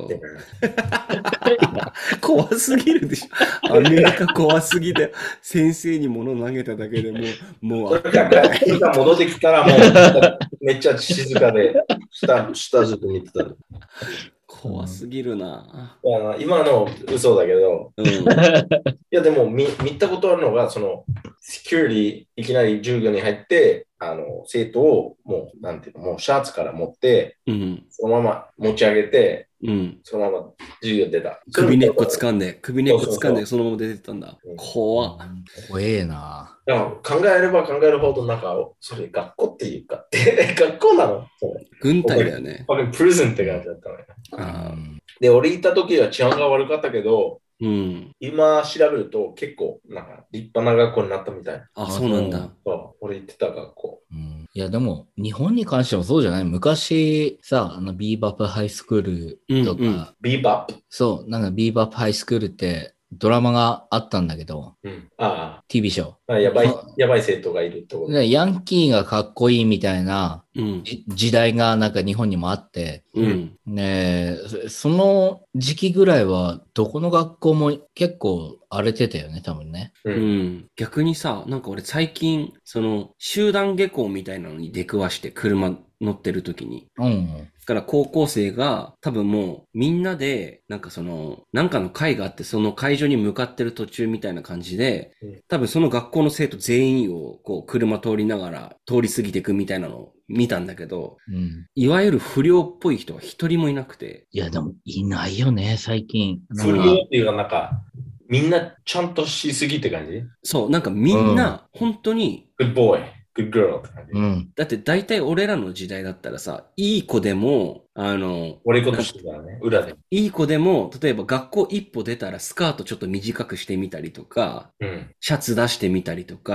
怖すぎるでしょ。アメリカ怖すぎて、先生に物投げただけでもう会ってない。戻ってきたらもうめっちゃ静かで、下ずっと見てた。 怖すぎるな。 今の嘘だけど、いやでも見たことあるのが、セキュリティいきなり授業に入って、生徒をもうシャツから持って、そのまま持ち上げて、そのまま授業出た。 首根っこ掴んで、そのまま出てたんだ。怖えな。 考えれば考えるほど、なんか、それ学校っていうか、学校なの？ 軍隊だよね。 プリズンって感じだったね。で、俺行った時は治安が悪かったけど、今調べると結構なんか立派な学校になったみたい。 そうなんだ。 俺行ってた学校。 いやでも日本に関してもそうじゃない？昔さ、ビーバップハイスクールとか、 ビーバップ？ そう、なんかビーバップハイスクールってドラマがあったんだけど、TV ショー。やばい生徒がいるってこと。 ヤンキーがかっこいいみたいな時代がなんか日本にもあって、その時期ぐらいはどこの学校も結構荒れてたよね、多分ね。 逆にさ、なんか俺最近、集団下校みたいなのに出くわして車乗ってる時に。だから高校生が多分もうみんなでなんかの会があってその会場に向かってる途中みたいな感じで、多分その学校の生徒全員をこう車通りながら通り過ぎていくみたいなのを見たんだけど、いわゆる不良っぽい人は一人もいなくて。 いやでもいないよね、最近。 不良っていうかなんか、みんなちゃんとしすぎって感じ？ そう、なんかみんな本当に、 Good boy, good girl って感じ。 だって大体俺らの時代だったらさ、いい子でも、 俺ことしてたらね、裏で。 いい子でも、例えば学校一歩出たらスカートちょっと短くしてみたりとか、シャツ出してみたりとか、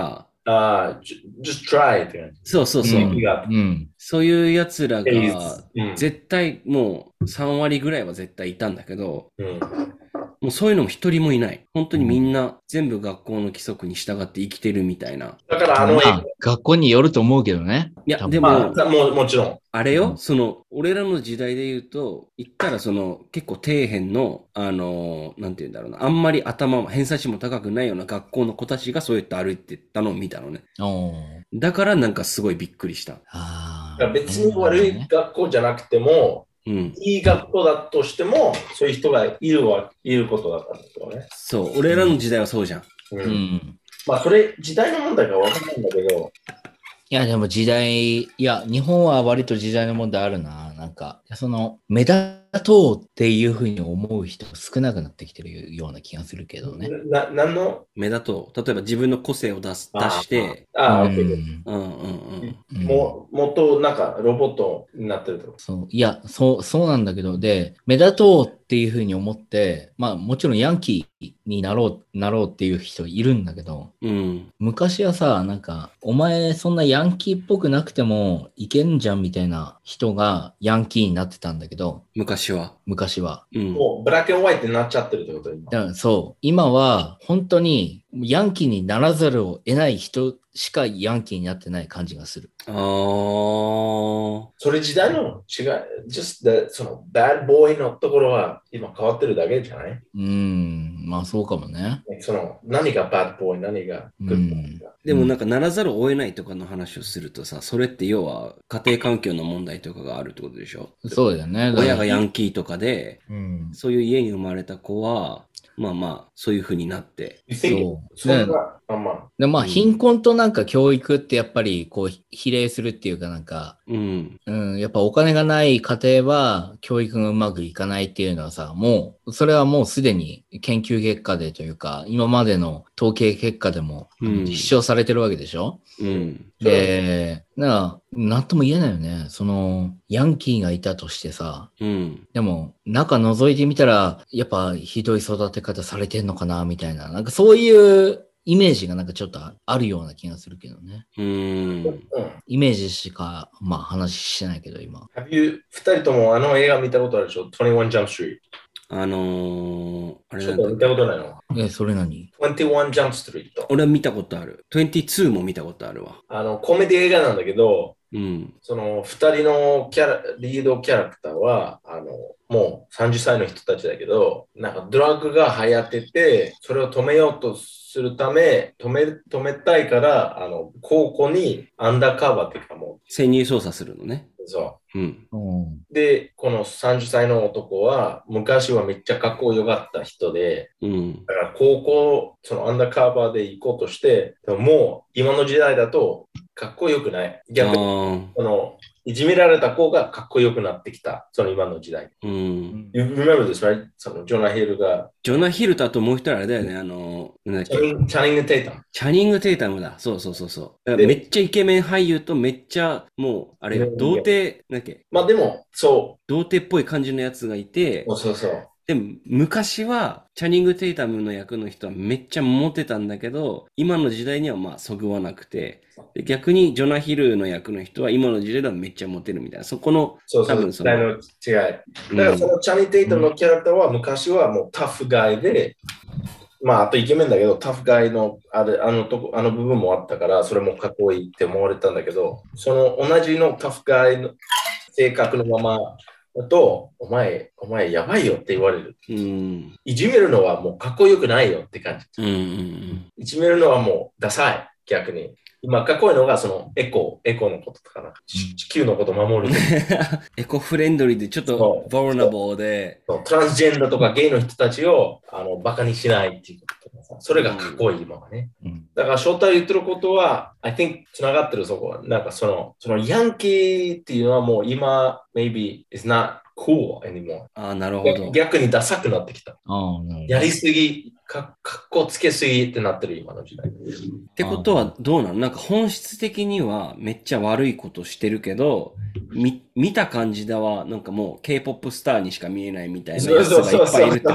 just try って感じ。 そうそうそう。そういう奴らが、 うん絶対もう3割ぐらいは絶対いたんだけど、 うんもうそういうのも一人もいない。本当にみんな全部学校の規則に従って生きてるみたいな。 だからまあ、学校によると思うけどね。 いや、 多分でまも、 あ、もちろん。 あれよ、その、俺らの時代で言うと、言ったらその、結構底辺の、なんて言うんだろうな、あんまり頭も、偏差値も高くないような学校の子たちがそうやって歩いてったのを見たのね。 おーだからなんかすごいびっくりした。 あーだから別に悪い学校じゃなくても、 うん。 いい学校だとしても、そういう人がいることだったんですよね。 そう、俺らの時代はそうじゃん。 うんうんまあ、それ、時代の問題かわかんないんだけど、 いや、でも時代、いや、日本は割と時代の問題あるな。なんか、その、目立とうっていうふうに思う人少なくなってきてるような気がするけどね。 何の目立とう。例えば自分の個性を出して、 オッケー。 うんうんうんうん。 もっとなんかロボットになってると。 そう、いや、そうなんだけど、で、目立とうっていうふうに思って、まあもちろんヤンキーになろうっていう人いるんだけど、 うん。 昔はさ、なんか、お前そんなヤンキーっぽくなくてもいけんじゃんみたいな人がヤンキーになってたんだけど、 昔は。 昔は。 うん。 もうブラック&ホワイトになっちゃってるってこと今。 だからそう、今は本当にヤンキーにならざるを得ない人しかヤンキーになってない感じがする。 あー。 それ時代の違い、just その bad boy のところは今変わってるだけじゃないまあそうかもね。 その何が bad boy、何が good boy か。 でもなんかならざるを得ないとかの話をするとさ、それって要は家庭環境の問題とかがあるってことでしょ。 そうだよね。 親がヤンキーとかで、 うん。 そういう家に生まれた子は、まあまあ、そういう風になって。 そうそんな、 ねまあ、 でまあ貧困となんか教育ってやっぱりこう比例するっていうかなんか、 うん。 やっぱお金がない家庭は教育がうまくいかないっていうのはさ、もう、それはもうすでに研究結果でというか、今までの統計結果でも実証されてるわけでしょ、 うん。 で、なんとも言えないよね。その、ヤンキーがいたとしてさ、 うん。 でも、中覗いてみたら、やっぱひどい育て方されてんのかな、みたいな。なんかそういうイメージがなんかちょっとあるような気がするけどね。イメージしか、まあ話してないけど、今。 二人ともあの映画見たことあるでしょ ?21 Jump Street。 あれちょっと見たことないのそれ何 ?21 Jump Street。 俺は見たことある。22も見たことあるわ。 コメディ映画なんだけど、 うん。 その二人のリードキャラクターは、もう30歳の人たちだけど、なんかドラッグが流行ってて、それを止めようとするため、止めたいから、高校にアンダーカバーっていうかも潜入捜査するのね。 う、そうん。 うん。 で、この30歳の男は、昔はめっちゃかっこよかった人で、 うん。 だから高校、そのアンダーカバーで行こうとして、でももう今の時代だとかっこよくない。逆に、いじめられた子がかっこよくなってきた。その今の時代。 うん。 You remember this, right? そのジョナヒルが。 ジョナヒルとあともう一人あれだよね。なんだっけ。 チャニング・テイタム。 チャニング・テイタムだ。そうそうそうそう。めっちゃイケメン俳優とめっちゃもう、あれ、童貞、なんだっけ。 まあでも、そう。 童貞っぽい感じのやつがいて、 そうそう。 でも、昔は、チャニング・テイタムの役の人はめっちゃモテたんだけど、今の時代にはまあ、そぐわなくて、で逆にジョナヒルの役の人は今の時代ではめっちゃモテるみたいな、そこの、 そう多分その違い。だからそのチャニング・テイタムのキャラクターは昔はもうタフガイで、まあ、あとイケメンだけど、タフガイのあの部分もあったから、それもかっこいいって思われたんだけど、その同じのタフガイの性格のままだと、お前やばいよって言われる。いじめるのはもうかっこよくないよって感じ。いじめるのはもうダサい、逆に。今かっこいいのがそのエコのこととかな。地球のこと守る。 エコフレンドリーでちょっとボルナボーで。 トランスジェンダーとかゲイの人たちをバカにしないっていうこととかさ。それがかっこいい今はね。だから翔太言ってることは、I think つながってるそこは。なんかそのヤンキーっていうのはもう今、maybe is not cool anymore. なるほど。 逆にダサくなってきた。やりすぎ、かっこつけすぎってなってる今の時代。 ってことはどうなの？なんか本質的にはめっちゃ悪いことしてるけど、見た感じではなんかもう K-POP スターにしか見えないみたいなやつがいっぱいいるってこと。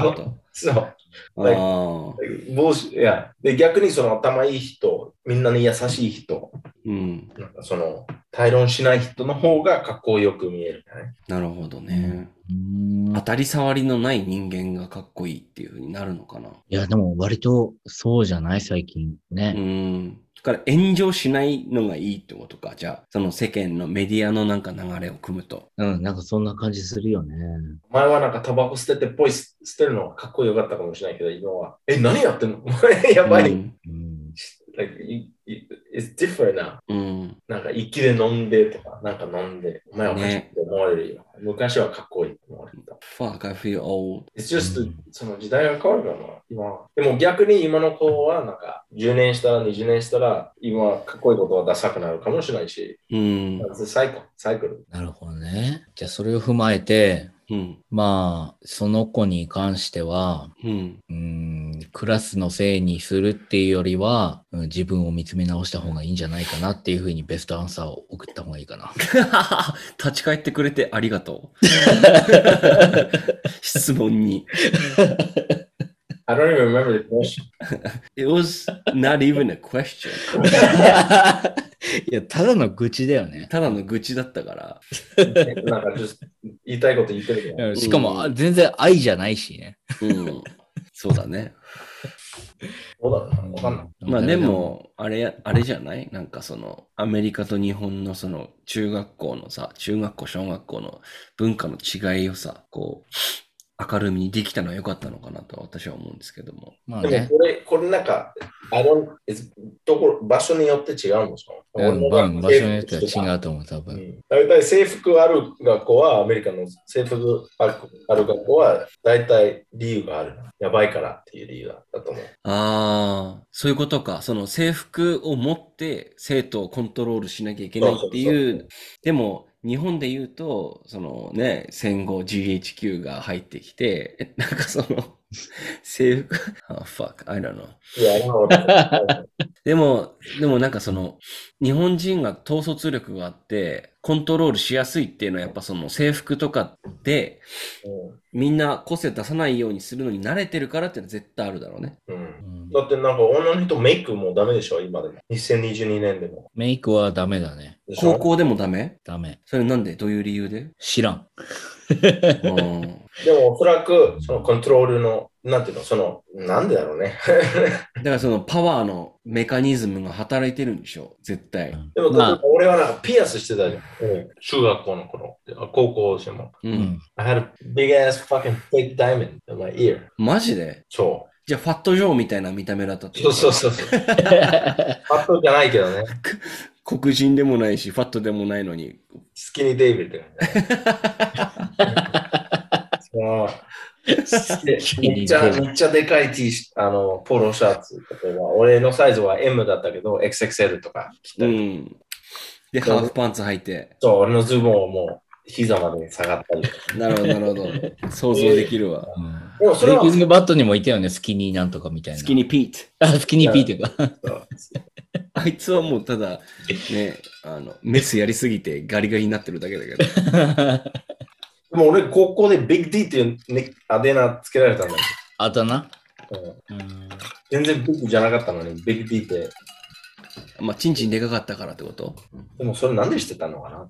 そう。いやで逆にその頭いい人、みんなに優しい人、なんかその対論しない人の方がかっこよく見える、ね。 なるほどね。当たり障りのない人間がかっこいいっていう風になるのかな。いや、でも割とそうじゃない最近ね。 だから炎上しないのがいいってことか。じゃあ、その世間のメディアのなんか流れを組むと。 なんかそんな感じするよね。 前はなんかタバコ捨ててポイ捨てるのがかっこよかったかもしれないけど、今は、何やってんのやばい。Like, it's different now. なんか息で飲んでとか、なんか飲んで、お前はおかしいって思われるよ。昔はかっこいいって思われた。 Fuck, I feel old. It's just, その時代が変わるからな、今は。でも逆に今の子は、なんか10年したら20年したら、今かっこいいことはダサくなるかもしれないし。サイクル。 なるほどね。じゃあそれを踏まえて、まあ、その子に関しては、クラスのせいにするっていうよりは、自分を見つめ直した方がいいんじゃないかなっていうふうにベストアンサーを送った方がいいかな。 立ち返ってくれてありがとう。質問に。 I don't even remember the question. It was not even a question. いや、ただの愚痴だよね。 ただの愚痴だったから。 なんか、言いたいこと言ってるけど。 しかも、全然愛じゃないしね。 そうだね。 そうだな、わかんない。 まあでも、あれじゃないなんかその、アメリカと日本のその、中学校のさ、中学校、小学校の文化の違いをさ、こう、明るみにできたのは良かったのかなと私は思うんですけども。 まあね、 でもこれなんか、場所によって違うんでしょ、 場所によっては違うと思う、多分。 大体制服ある学校は、アメリカの制服ある学校は、大体理由がある。やばいからっていう理由だと思う。 ああ、そういうことか。その制服を持って生徒をコントロールしなきゃいけないっていう。でも、日本で言うと、そのね、戦後 GHQ が入ってきて、なんかその、制服、fuck, I don't know. でもなんかその、日本人が統率力があって、コントロールしやすいっていうのはやっぱその制服とかで、みんな個性出さないようにするのに慣れてるからっていうのは絶対あるだろうね。 だってなんか女の人メイクもダメでしょ、今でも。2022年でも。 メイクはダメだね。 高校でもダメ？ ダメ。 それなんで？どういう理由で？ 知らん。 でもおそらくそのコントロールのなんていうの、そのなんでだろうね。 だからそのパワーのメカニズムが働いてるんでしょ、絶対。 でも、俺はなんかピアスしてたじゃん。中学校の頃、高校でも。I had a big ass fucking fake diamond in my ear. マジで？ そう。 じゃあファットジョーみたいな見た目だったってこと？そう。ファットじゃないけどね。 黒人でもないし、ファットでもないのに。 スキニーデイビッドめっちゃでかいポロシャツ。例えば、俺のサイズは M だったけど、XXL とか着たり。 で、ハーフパンツ履いて。 そう、俺のズボンをもう膝まで下がったり。 なるほど。想像できるわ。 でもそれは。ブレイキングバットにもいたよね、スキニーなんとかみたいな。 スキニーピート。スキニーピートか。 あいつはもうただ、ね、メスやりすぎてガリガリになってるだけだけど。 でも俺、高校でビッグ D っていう、あだ名つけられたんだよ。 あだ名？ 全然ビッグじゃなかったのに、ビッグ D って。 まあ、チンチンでかかったからってこと？ でもそれなんで知ってたのかな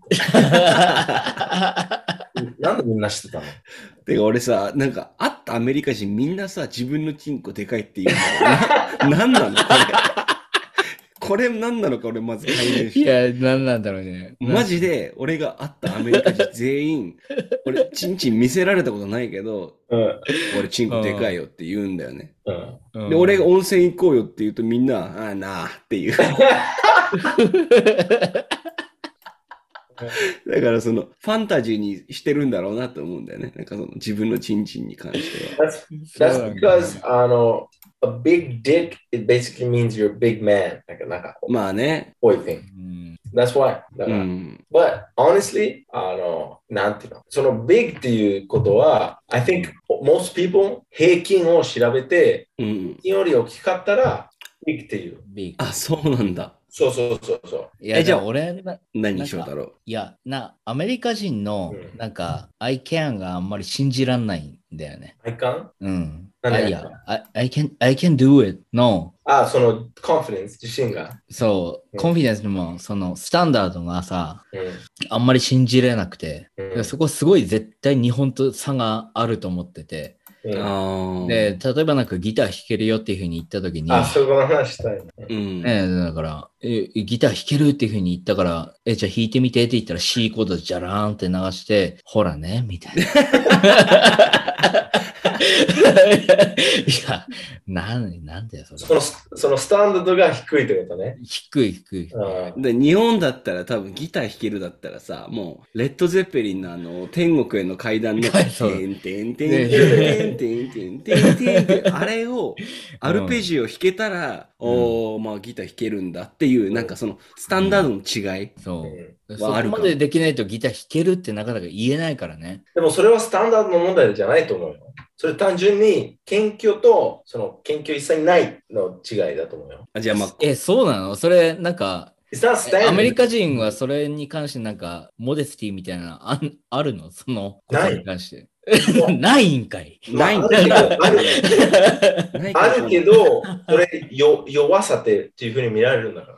なんでみんな知ってたの？ てか俺さ、なんか会ったアメリカ人みんなさ、自分のチンコでかいって言うの。なんなのこれ何なのか俺まず解明して。 いや、何なんだろうね。 マジで俺が会ったアメリカ人全員、俺チンチン見せられたことないけど、俺チンコでかいよって言うんだよね。で、俺が温泉行こうよって言うとみんな、ああなあって言う。だからそのファンタジーにしてるんだろうなと思うんだよね。なんかその自分のチンチンに関しては。 That's because, a big dick, it basically means you're a big man. なんかまあね。 こういう thing. That's why. だから、But honestly, なんていうの、その big っていうことは、I think most people 平均を調べて、平均より大きかったら big っていう。 あ、そうなんだ。 そうそうそうそう。 いや、 じゃあ俺、 何翔太郎。 いや、アメリカ人の、なんか、I can があんまり信じらんないんだよね。 I can? うん。 何いや、I can do it の、 その、confidence、自信が。 そう、コンフィデンスも、その、スタンダードがさ、 うんあんまり信じれなくて、 うんそこすごい絶対日本と差があると思ってて、で、例えばなんかギター弾けるよっていうふうに言ったときに、 そこの話したい、 だから、ギター弾けるっていうふうに言ったから、じゃあ弾いてみてって言ったら C コードジャラーンって流して、ほらね、みたいな。いや、なんだよ、それ。 そのスタンダードが低いってことね。 低い。 で日本だったら多分ギター弾けるだったらさ、もうレッド・ゼッペリンの天国への階段のテンテンテンテンテンテンテンテンテンテンあれをアルペジオ弾けたら、まあギター弾けるんだっていう、なんかそのスタンダードの違い。 そう。そこまでできないとギター弾けるってなかなか言えないからね。 でもそれはスタンダードの問題じゃないと思うよ。それ単純に研究とその研究一切ないの違いだと思うよ。 じゃあまあ、 そうなの？それなんか、アメリカ人はそれに関してなんか、モデスティみたいなあるの？そのことに関して。ないんかい。 ないんかい。あるけど、それ弱さっていうふうに見られるんだから。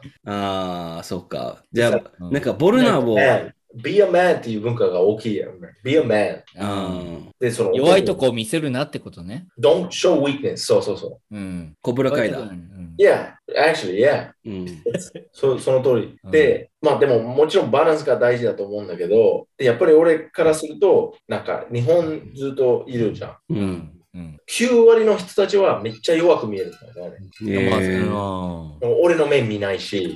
そうか。じゃあ、なんかボルナーを。 Be a man っていう文化が大きいやん。Be a man。 で弱いとこを見せるなってことね。 Don't show weakness。そう。 コブラカイだ。 Yeah, actually, yeah. その通り。で、まあでももちろんバランスが大事だと思うんだけど、やっぱり俺からすると、なんか日本ずっといるじゃん。9割の人たちはめっちゃ弱く見えるんだよね。俺の目見ないし、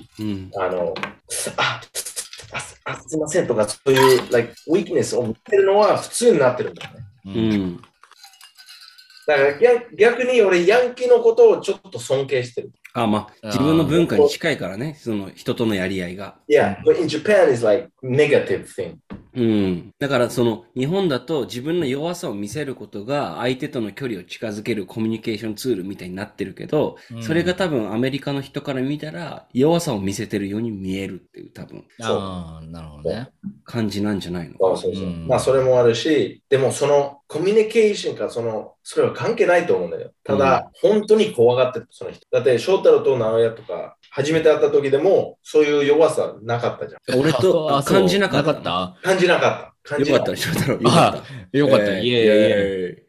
すいませんとか、そういう、weakness を見てるのは普通になってるんだよね。だから逆に俺、ヤンキーのことをちょっと尊敬してる。 まあ、自分の文化に近いからね、その人とのやり合いが。 Yeah, but in Japan is like negative thing. だからその日本だと自分の弱さを見せることが相手との距離を近づけるコミュニケーションツールみたいになってるけど、それが多分アメリカの人から見たら弱さを見せてるように見えるっていう多分なるほどね。 感じなんじゃないのか。 そう。まあそれもあるし、でもそのコミュニケーションかそれは関係ないと思うんだよ。ただ、本当に怖がってるその人。だって翔太郎と直哉とか初めて会った時でもそういう弱さなかったじゃん。 俺と感じなかった。 感じなかった。 よかったね、翔太郎。 よかった。イエ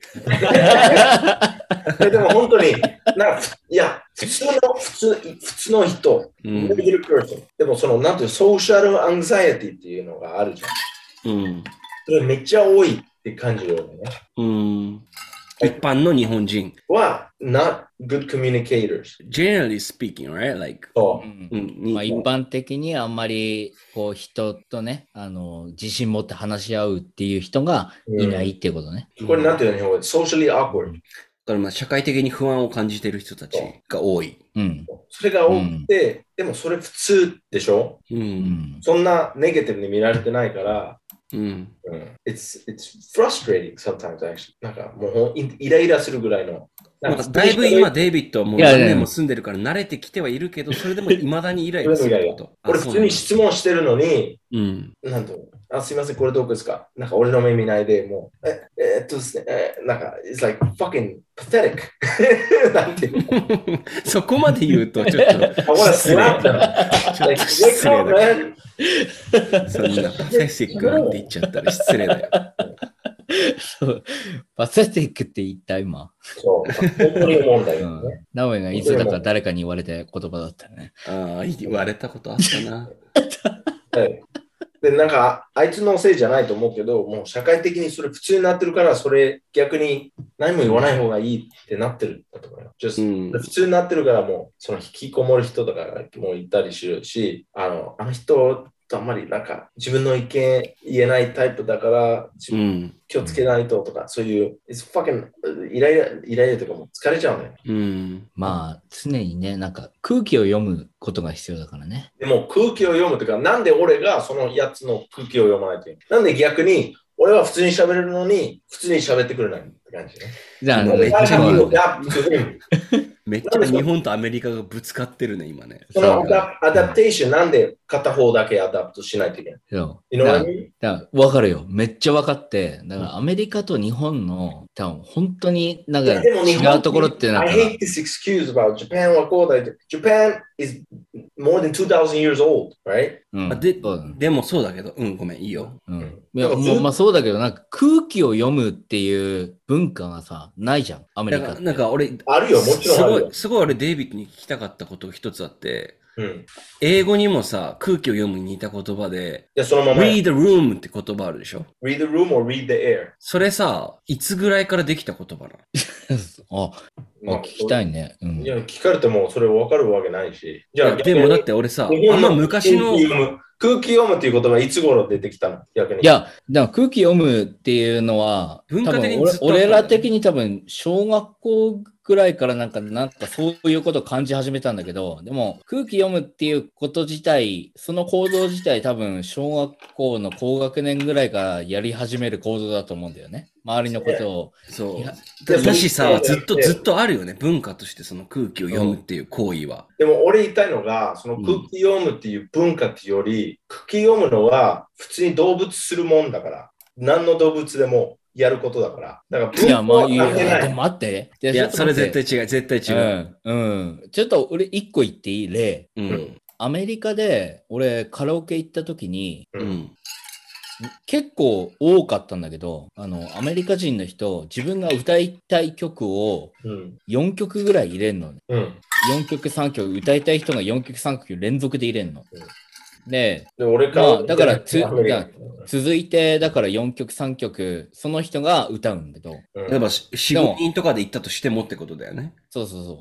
ーイ。でも本当に、いや、普通の人、でもなんていうソーシャルアンザイアティっていうのがあるじゃん。それめっちゃ多いって感じるよね。 一般の日本人は not good communicators. Generally speaking, right? Like, まあ一般的にあんまりこう人とね、自信持って話し合うっていう人がいないってことね。 これなんていうの日本語で socially awkward。 だからまあ社会的に不安を感じている人たちが多い。 それが多くて、でもそれ普通でしょ？そんなネガティブに見られてないから。It's frustrating sometimes actually. なんかもうイライラするぐらいの。 だいぶ今デイビッドはもう何年も住んでるから慣れてきてはいるけど、それでも未だにイライラすること。 俺普通に質問してるのに、なんとすいません、これどこですか？なんか俺の目見ないで、もう、ですね、なんか、it's like fucking pathetic. なんていうのそこまで言うと、ちょっと失礼だ。そんなパセシックなんて言っちゃったら失礼だよ。 パセティックって言った今。 そう、本当に思うんだよね。 ナオエがいつだか誰かに言われた言葉だったね。 言われたことあったな。 で、なんか、あいつのせいじゃないと思うけど、もう社会的にそれ普通になってるから、それ逆に何も言わない方がいいってなってるんだと思うよ。普通になってるから、もう、その引きこもる人とかもいたりするし、あの人とあんまりなんか自分の意見言えないタイプだから、気をつけないととか、そういう、イライラとかも疲れちゃうんだよ。 まあ、常にね、なんか空気を読むことが必要だからね。 でも空気を読むというか、なんで俺がそのやつの空気を読まないといけない。なんで逆に、俺は普通に喋れるのに、普通に喋ってくれないって感じね。 じゃあ、めっちゃめっちゃ日本とアメリカがぶつかってるね、今ね。 そのアダプテーション、なんで片方だけアダプトしないといけない？ わかるよ。めっちゃわかって。だからアメリカと日本の多分本当になんか違うところってなんか。 I hate this excuse about Japan はこうだ。Japan is more than 2,000 years old, right? でもそうだけど、ごめん、いいよ。 いやまあそうだけど、なんか空気を読むっていう文化がさ、ないじゃん、アメリカって。 なんか俺、あるよ、もちろんあるよ。 すごい俺、デイビッドに聞きたかったことが一つあって、英語にもさ、空気を読むに似た言葉で、 そのまま read the room って言葉あるでしょ？ read the room or read the air。 それさ、いつぐらいからできた言葉なの？聞きたいね。 いや、聞かれてもそれ分かるわけないし。 じゃあ、でもだって俺さ、あんま昔の空気読むっていう言葉はいつ頃出てきたの？逆に。 いや、だから空気読むっていうのは、 文化的に俺ら的に多分、小学校ぐらいからなんかそういうことを感じ始めたんだけど、でも空気読むっていうこと自体、その行動自体多分、小学校の高学年ぐらいからやり始める行動だと思うんだよね。周りのことを。 そう。だしさ、ずっとあるよね。文化としてその空気を読むっていう行為は。 でも俺言いたいのが、その空気読むっていう文化っていうより、空気読むのは普通に動物するもんだから。何の動物でもやることだから。だからいや、まあいいよ。でも待って。 いや、それ絶対違う。絶対違う。ちょっと俺一個言っていい例。アメリカで俺カラオケ行った時に、結構多かったんだけど、アメリカ人の人、自分が歌いたい曲を4曲ぐらい入れんのね。4曲3曲、歌いたい人が4曲3曲連続で入れんの。で、だから続いて、だから4曲3曲、その人が歌うんだけど。 例えば4、5人とかで行ったとしてもってことだよね。 そう。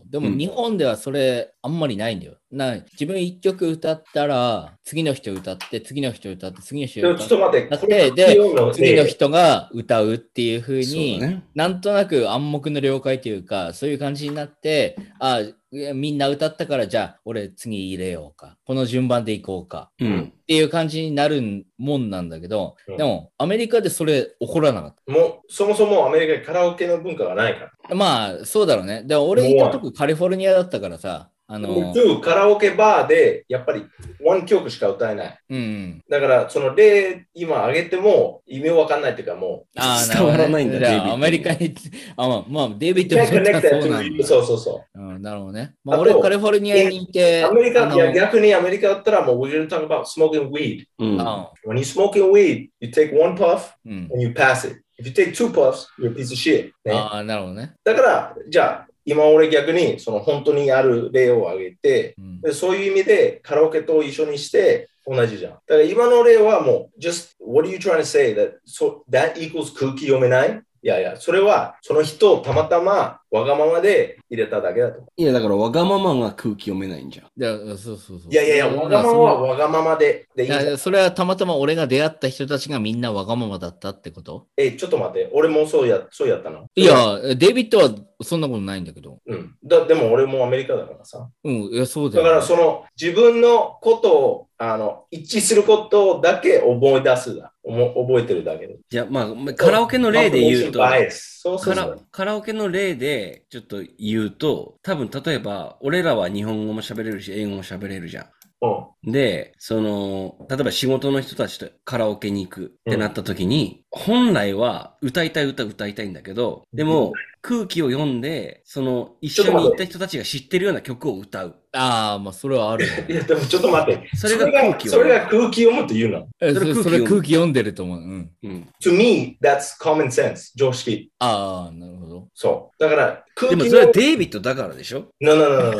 でも日本ではそれあんまりないんだよ。自分1曲歌ったら、次の人歌って、次の人歌って、次の人歌って、 ちょっと待って、 で、次の人が歌うっていう風に、なんとなく暗黙の了解というか、そういう感じになって、みんな歌ったから、じゃあ、俺次入れようか。この順番でいこうか。っていう感じになるもんなんだけど、でも、アメリカでそれ起こらなかった。 もう、そもそもアメリカにカラオケの文化がないから。 まあ、そうだろうね。でも俺いたとこカリフォルニアだったからさ、 カラオケバーでやっぱり1曲しか歌えない。だから、その例今挙げても意味わかんないっていうかもう伝わらないんだよ。アメリカに、まあ、デイビッドもそうなんだ。 そう。 なるほどね。まあ、俺カリフォルニアにいて、 アメリカ、逆にアメリカだったらもう we're going to talk about smoking weed. When you're smoking weed, you take one puff and you pass it. If you take two puffs, you're a piece of shit. なるほどね。 だから、じゃあ、今俺逆にその本当にある例を挙げて、そういう意味でカラオケと一緒にして同じじゃん。だから今の例はもう just what are you trying to say that equals 空気読めない？いや、それはその人をたまたまわがままで入れただけだと。 いや、だからわがままが空気読めないんじゃん。 そう。 いや、わがままはわがままでいい。 それはたまたま俺が出会った人たちがみんなわがままだったってこと？ ちょっと待って。俺もそうやったの？ いや、デイビッドはそんなことないんだけど。 でも俺もアメリカだからさ。 いや、そうだよ。 だからその自分のことを一致することだけ覚えてるだけで。 じゃあ、まあ、カラオケの例で言うと、カラオケの例でちょっと言うと、多分例えば、俺らは日本語も喋れるし、英語も喋れるじゃん。で、例えば仕事の人たちとカラオケに行くってなった時に、本来は歌いたい歌歌いたいんだけど、でも空気を読んで、一緒に行った人たちが知ってるような曲を歌う。 まあ、それはある。 いや、でもちょっと待って。 それが空気それが空気読むって言うの？ それ空気読んでると思う。 To me, that's common sense. 常識。 なるほど。 そう。だから空気でもそれはデイビッドだからでしょ？ No.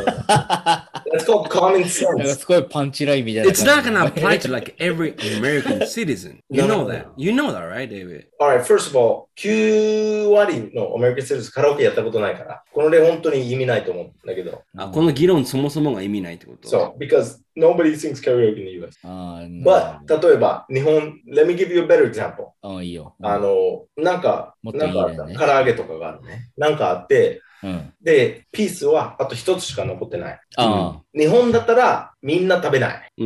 That's called common sense. すごいパンチラインみたいな。 It's not gonna apply to like every American citizen. You know that. You know that, right, David? Alright, first of all, 9割のアメリカン・シティズンカラオケやったことないから、この例本当に意味ないと思うんだけど。 この議論そもそもが意味ないってこと？ そう、because nobody sings karaoke in the US. But 例えば、日本、let me give you a better example. いいよ。 なんか唐揚げとかがあるね。なんかあって、で、ピースはあと一つしか残ってない。日本だったらみんな食べない。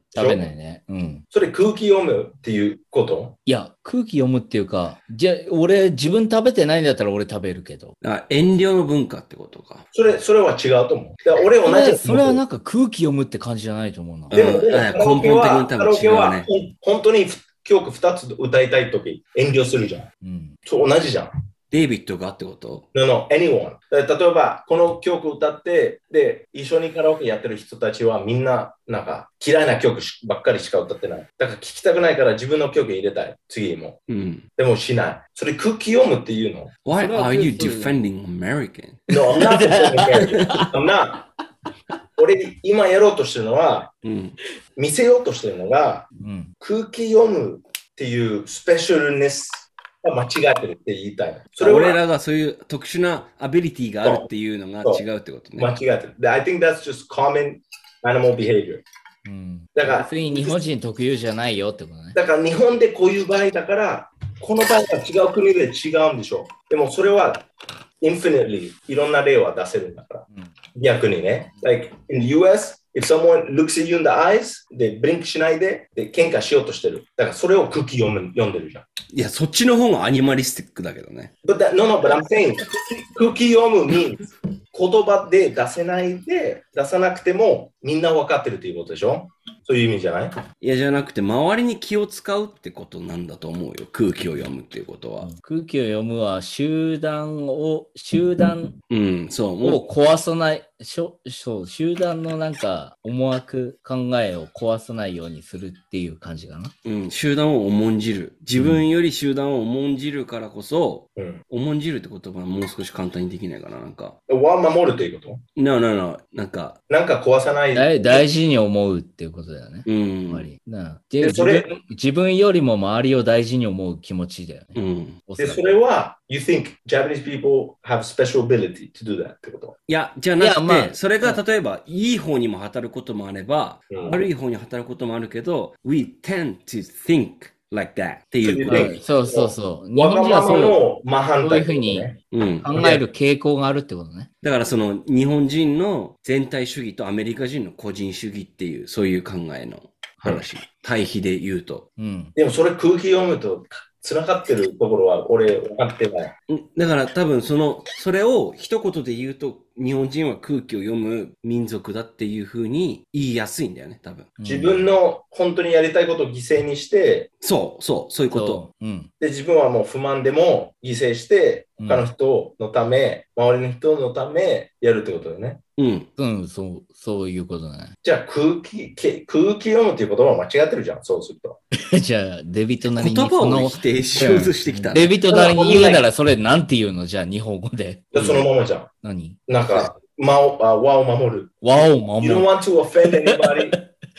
食べないね。うん。 それ空気読むっていうこと？ いや、空気読むっていうか、じゃあ、俺、自分食べてないんだったら俺食べるけど。 遠慮の文化ってことか。 それは違うと思う。だから俺同じ。 それはなんか空気読むって感じじゃないと思うな。 でも根本的に多分違うね。 本当に曲2つ歌いたいとき遠慮するじゃん。うん。そう同じじゃん。 デイビッドがってこと？ No, anyone. 例えば、この曲歌って、で、一緒にカラオケやってる人たちはみんな、なんか、嫌いな曲ばっかりしか歌ってない。だから聴きたくないから自分の曲入れたい。次も。うん。でもしない。それ空気読むっていうの？ Why are you defending American? No, I'm not defending American. I'm not. 俺、今やろうとしてるのは、見せようとしてるのが、空気読むっていうスペシャルネス。間違ってるって言いたい。 それ俺らがそういう特殊なアビリティがあるっていうのが違うってことね。 間違ってる。I think that's just common animal behavior。 うん、だから、日本人特有じゃないよってことね。 だから日本でこういう場合だから、この場合は違う国で違うんでしょう。でもそれは infinitely いろんな例は出せるんだから。逆にね。Like in the US、if someone looks at you in the eyes, で、ブリンクしないで、で、喧嘩しようとしてる。だからそれを空気読んでるじゃん。 いや、そっちの方がアニマリスティックだけどね。 but I'm saying 空気読む means 言葉で出せないで、出さなくてもみんな分かってるっていうことでしょ？そういう意味じゃない？ いや、じゃなくて、周りに気を使うってことなんだと思うよ。空気を読むっていうことは。 空気を読むは、集団を壊さない、集団のなんか思惑、考えを壊さないようにするっていう感じかな。 うん、集団を重んじる。自分より集団を重んじるからこそ、重んじるって言葉はもう少し簡単にできないかな、なんか。 守るっていうこと？ No, なんか壊さない。 大事に思うっていうことだよね。自分よりも周りを大事に思う気持ちだよね。 で、それは、You think Japanese people have special ability to do that ってこと？ いや、じゃなくて、それが例えば、いい方にも働くこともあれば、悪い方に働くこともあるけど、We tend to think like that っていうこと。 そう。 日本人はそういうふうに考える傾向があるってことね。 だからその日本人の全体主義とアメリカ人の個人主義っていう、そういう考えの話。対比で言うと。 でもそれ空気読むと、つながってるところは俺分かってない。 だから多分それを一言で言うと、日本人は空気を読む民族だっていう風に言いやすいんだよね、多分。 自分の本当にやりたいことを犠牲にして、 そういうこと。 で、自分はもう不満でも犠牲して、他の人のため、周りの人のためやるってことだよね。 そういうことね。 じゃあ空気読むっていう言葉は間違ってるじゃん、そうすると。 じゃあ、デビットなりに言葉を否定しようとしてきた。 デビットなりに言うならそれなんて言うの？じゃあ、日本語で。 そのままじゃん。 何？ なんか、和を守る。You don't want to offend anybody.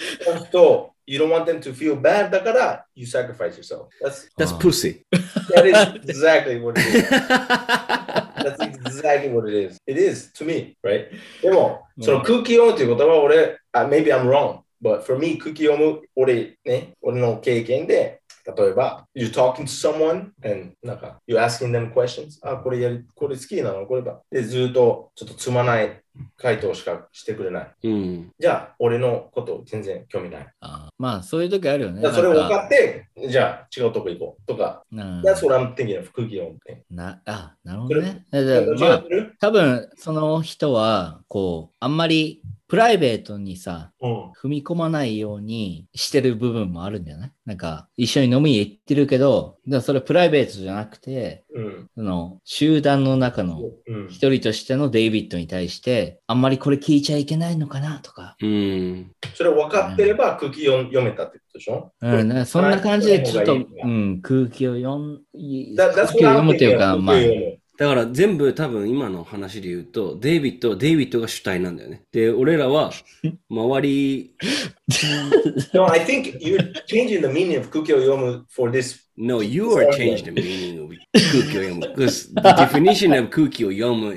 You don't want them to feel bad. だから、you sacrifice yourself. That's pussy. That is exactly what it is. That's exactly what it is. It is to me, right? でも、その空気読むということは俺、maybe I'm wrong. But for me, 空気読む、俺の経験で、例えば、you're talking to someone and なんか、you're asking them questions. これ好きなの？これば。で、ずっとちょっとつまない回答しかしてくれない。じゃあ、俺のこと全然興味ない。 まあ、そういう時あるよね。 それを分かって、じゃあ、違うとこ行こうとか。That's what I'm thinking of 空気読むって。 なるほどね。多分、その人は、あんまり、プライベートにさ、踏み込まないようにしてる部分もあるんじゃない？なんか、一緒に飲みに行ってるけど、それプライベートじゃなくて、その集団の中の一人としてのデイビッドに対して、あんまりこれ聞いちゃいけないのかなとか。 それ分かってれば空気読めたってことでしょ？ そんな感じでちょっと、空気を読むっていうか、まあ、 だから全部多分今の話で言うと、デイビッドが主体なんだよね。で、俺らは周り。 No, I think you're changing the meaning of 空気を読む for this. No, you are changing the meaning of 空気を読む. Because the definition of 空気を読む is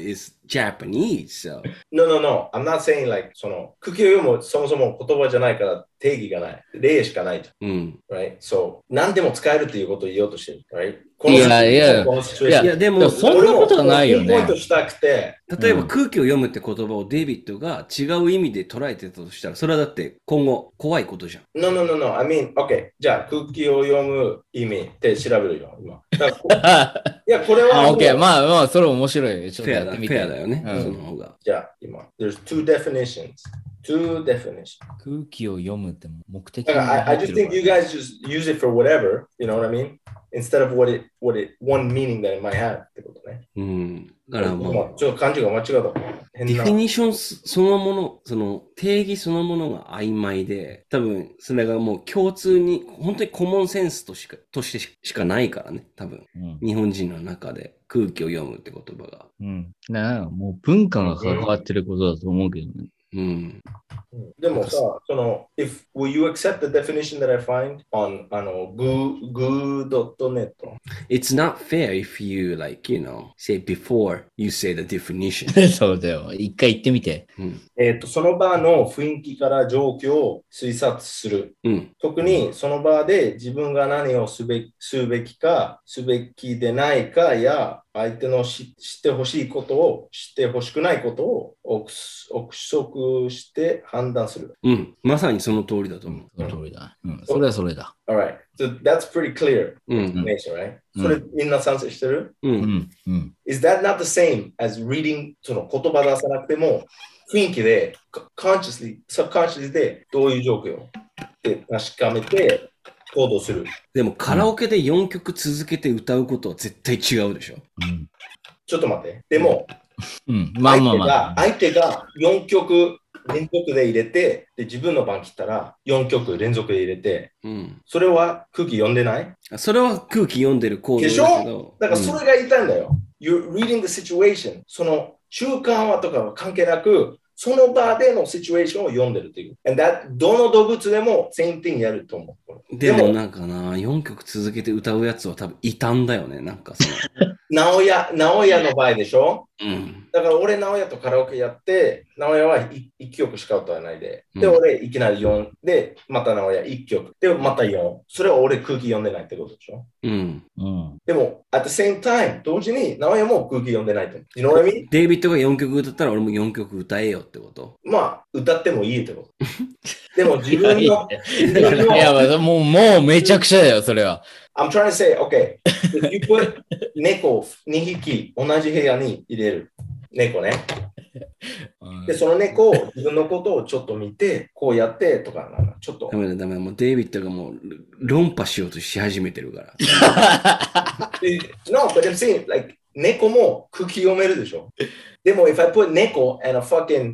Japanese, so. No. I'm not saying like,その、空気を読むそもそも言葉じゃないから定義がない。例しかないじゃん。Right? So, 何でも使えるっていうことを言おうとしてる。Right? いや、でも、そんなことはないよね。 ポイントしたくて。 例えば空気を読むって言葉をデイビッドが違う意味で捉えてたとしたら、それはだって今後怖いことじゃん。 No. I mean, OK. じゃあ空気を読む意味って調べるよ、今。いや、これは。 OK。まあ、それ面白い。 フェアだよね。その方が。 じゃあ、今。There's two definitions. 空気を読むって目的に。I just think you guys just use it for whatever. You know what I mean? Instead of one meaning that it might have ってことね。 だからちょっと漢字が間違った。 ディフィニッションそのもの、その定義そのものが曖昧で、多分それがもう共通に、本当にコモンセンスとしてしかないからね、多分。日本人の中で空気を読むって言葉が。 もう文化が関わってることだと思うけどね。 でもさ、その、will you accept the definition that I find on goo.net? It's not fair if you say before you say the definition. そうだよ。一回言ってみて。 その場の雰囲気から状況を推察する。特にその場で自分が何をすべきか、すべきでないかや、相手の知ってほしいことを、知ってほしくないことを憶測して判断する。 まさにその通りだと思う。 その通りだ。それはそれだ。 Alright. So that's pretty clear explanation, right? それみんな賛成してる？Is that not the same as reading その言葉出さなくても雰囲気で subconsciously でどういう状況って確かめて行動する。 でもカラオケで4曲続けて歌うことは絶対違うでしょ。 ちょっと待って。でも、相手が4曲連続で入れて、で自分の番切ったら4曲連続で入れて、それは空気読んでない？ それは空気読んでる行動だけど。でしょ？だからそれが言いたいんだよ。You're reading the situation. その習慣はとかは関係なく、その場でのシチュエーションを読んでるっていう。どの動物でも same thing やると思う。 でもなんかな、4曲続けて歌うやつは多分異端だよね。なんかその。 直哉の場合でしょ？だから俺直哉とカラオケやって、直哉は1曲しか歌わないで。で、俺いきなり4で、また直哉1曲。で、また4。それは俺空気読んでないってことでしょ？でも、at the same time、同時に直哉も空気読んでないと思う。You know what I mean？ デイビッドが4曲歌ったら俺も4曲歌えよってこと？ まあ、歌ってもいいってこと。でも自分の。 いや、もうめちゃくちゃだよ、それは。 I'm trying to say, okay, if you put 猫2匹同じ部屋に入れる。猫ね。で、その猫を自分のことをちょっと見て、こうやってとか、ちょっと。 ダメだ。もうデイビッドがもう論破しようとし始めてるから。 No, but I'm saying, like, 猫も空気読めるでしょ。でも、if I put 猫 and a fucking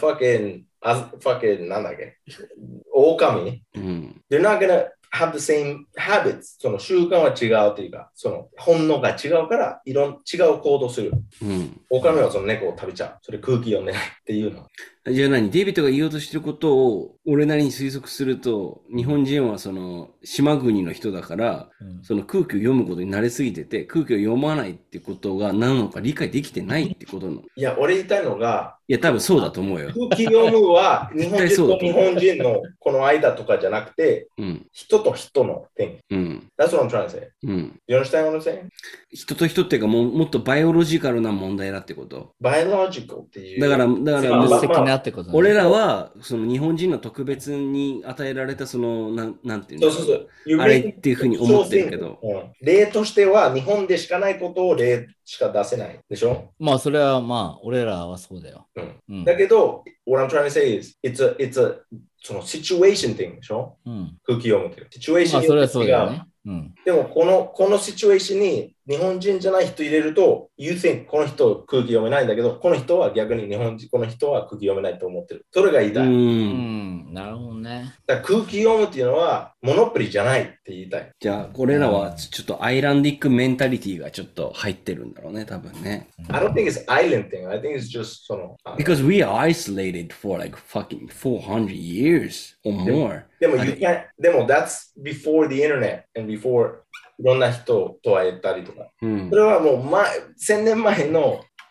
なんだっけ狼、they're not gonna have the same habits その習慣は違うというかその本能が違うから違う行動する、狼はその猫を食べちゃうそれ空気読んでないっていうのじゃあデイビッドが言おうとしてることを俺なりに推測すると日本人はその島国の人だから、その空気を読むことに慣れすぎてて空気を読まないってことが何なのか理解できてないってことの。 いや俺言いたいのがいや多分そうだと思うよ。 空気読むは日本人と日本人のこの間とかじゃなくて、人と人の点。That's what I'm trying to say. You understand what I'm saying? 人と人っていうかもっとバイオロジカルな問題だってこと。 バイオロジカルっていう。 だから素敵なってこと、ね、 俺らはその日本人の特別に与えられたそのなんていうのそうあれっていうふうに思ってるけど、 例としては日本でしかないことを例しか出せないでしょ。 まあそれはまあ俺らはそうだよ。 だけど what I'm trying to say is it's a その situation thing でしょ、空気読むっていう。situation によって違う。まあそれはそうだよね。 でもこのシチュエーションに日本人じゃない人入れると You think この人空気読めないんだけどこの人は逆に日本人この人は空気読めないと思ってる。それが言いたい。 なるほどね。 だから空気読むっていうのはモノポリじゃないって言いたい。 じゃあこれらはちょっとアイランディックメンタリティがちょっと入ってるんだろうね多分ね。 I don't think it's island thing. I think it's just その Because we are isolated for like fucking 400 years or more. でも that's before the internet and before いろんな人と会えたりとか。それはもう1000年前の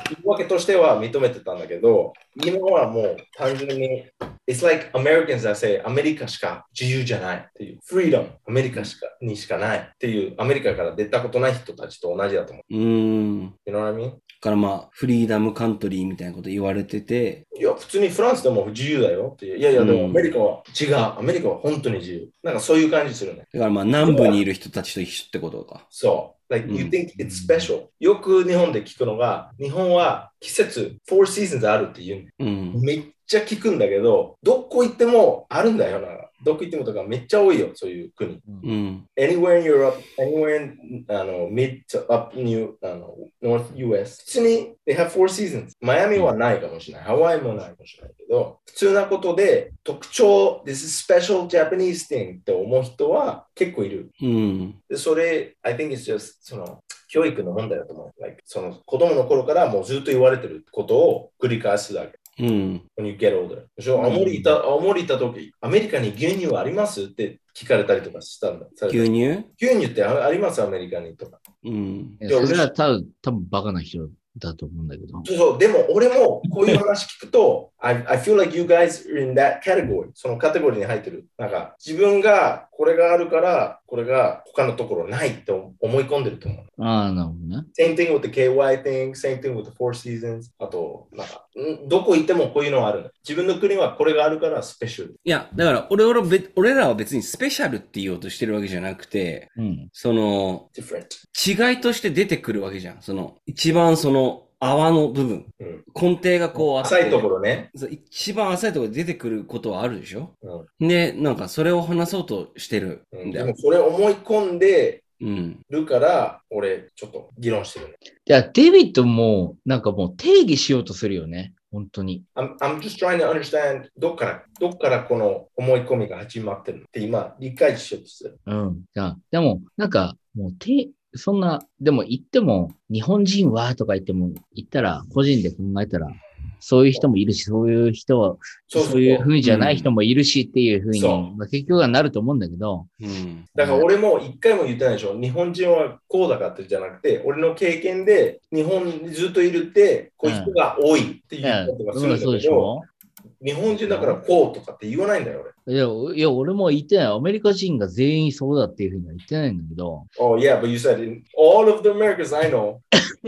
言い訳としては認めてたんだけど、今はもう単純に、It's like Americans that say アメリカしか自由じゃないっていう、Freedom アメリカにしかないっていう、アメリカから出たことない人たちと同じだと思う。You know what I mean? からまあ、フリーダムカントリーみたいなこと言われてて。 いや、普通にフランスでも自由だよっていう。いやいや、でもアメリカは違う。アメリカは本当に自由。なんかそういう感じするね。 だからまあ、南部にいる人たちと一緒ってことか。 そう。Like, you think it's special. よく日本で聞くのが、日本は季節、4 seasons あるって言う、めっちゃ聞くんだけど、どこ行ってもあるんだよな。どこ行ってもとかめっちゃ多いよ、そういう国。Anywhere in Europe, anywhere in mid to up North US. 普通に they have 4 seasons. マイアミはないかもしれない。ハワイもないかもしれないけど、普通なことで特徴、this is special Japanese thing って思う人は結構いる。でそれ、I think it's just その教育の問題だと思う。Like, その子供の頃からもうずっと言われてることを繰り返すだけ。When you get older. 青森行った時、アメリカに牛乳はありますって聞かれたりとかしたんだ。 牛乳ってありますアメリカにとか。 それは多分バカな人だと思うんだけど。 そう、でも俺もこういう話聞くと、I feel like you guys are in that category. そのカテゴリーに入ってる。なんか自分がこれがあるから、これが他のところないって思い込んでると思う。 ああ、なるほどね。 Same thing with the KY thing, same thing with the Four Seasons. あと、なんか、どこ行ってもこういうのはある。自分の国はこれがあるからスペシャル。 いや、だから俺らは別にスペシャルって言おうとしてるわけじゃなくて、その、違いとして出てくるわけじゃん。その、一番その、泡の部分、根底がこう浅いところね。 一番浅いところで出てくることはあるでしょ、で、なんかそれを話そうとしてるんだよ。 でもそれ思い込んでるから、俺ちょっと議論してるね。 いや、デビッドもなんかもう定義しようとするよね。本当に。 I'm just trying to understand どっからこの思い込みが始まってるのって今理解しようとする。 でもなんかもうそんな、でも言っても、日本人はとか言ったら、個人で考えたら、そういう人もいるし、そういう人は、そういう風じゃない人もいるしっていう風に、結局はなると思うんだけど。 だから俺も一回も言ってないでしょ。日本人はこうだからってじゃなくて、俺の経験で日本にずっといるって、こういう人が多いっていうことがするんだけど、日本人だからこうとかって言わないんだよ、 俺。いや、俺も言ってない。アメリカ人が全員そうだっていうふうには言ってないんだけど。 Oh, yeah, but you said in all of the Americans I know,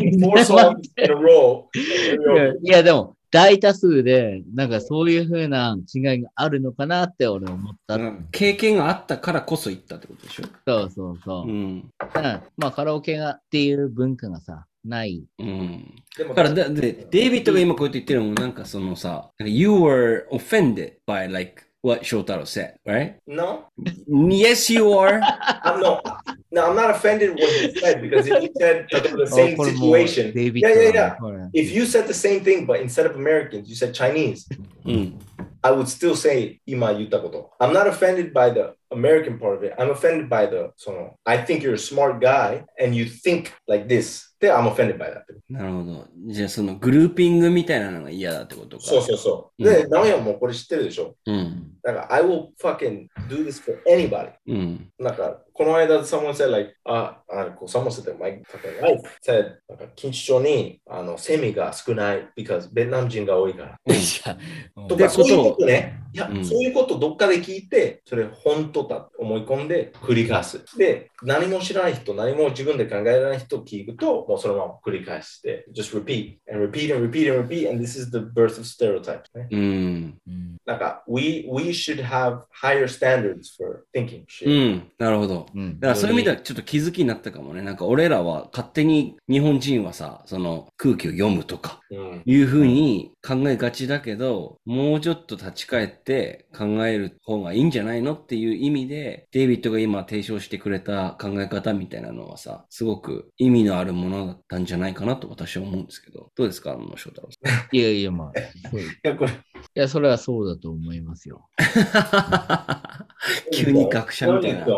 4 songs in a row. いや、でも、大多数で、なんかそういうふうな違いがあるのかなって俺は思った。 経験があったからこそ言ったってことでしょ。 そう。まあ、カラオケっていう文化がさ、ない。 だからデイビッドが今こうやって言ってるのもなんかそのさ、You were offended by like what Shotaro said, right? No. Yes, you are. No, I'm not offended with what he said because if you said the same situation. Yeah. If you said the same thing, but instead of Americans, you said Chinese. I would still say 今言ったこと。I'm not offended by the American part of it. I'm offended by the I think you're a smart guy and you think like this. で、I'm offended by that. なるほど。じゃあそのグルーピングみたいなのが嫌だってことか。 そう。で、直哉もこれ知ってるでしょ。だから、I will fucking do this for anybody. なんか、この間、someone said like, someone said that my fucking wife said, なんか、錦糸町にセミが少ない because ベトナム人が多いから。とか、そういうことね。いや、そういうことどっかで聞いて、それ本当だと思い込んで繰り返す。で、何も知らない人、何も自分で考えられない人を聞くと、もうそのまま繰り返して、just repeat and repeat and repeat and repeat, and this is the birth of stereotypes ね。なんか、we should have higher standards for thinking. なるほど。だからそういう意味ではちょっと気づきになったかもね。なんか俺らは勝手に日本人はさ、その空気を読むとか、いうふうに考えがちだけど、もうちょっと立ち返って考える方がいいんじゃないのっていう意味で、デイビッドが今提唱してくれた考え方みたいなのはさ、すごく意味のあるものだったんじゃないかなと私は思うんですけど、どうですか、翔太郎さん。 いや、まあ。いや、それはそうだと思いますよ。 急に学者みたいな。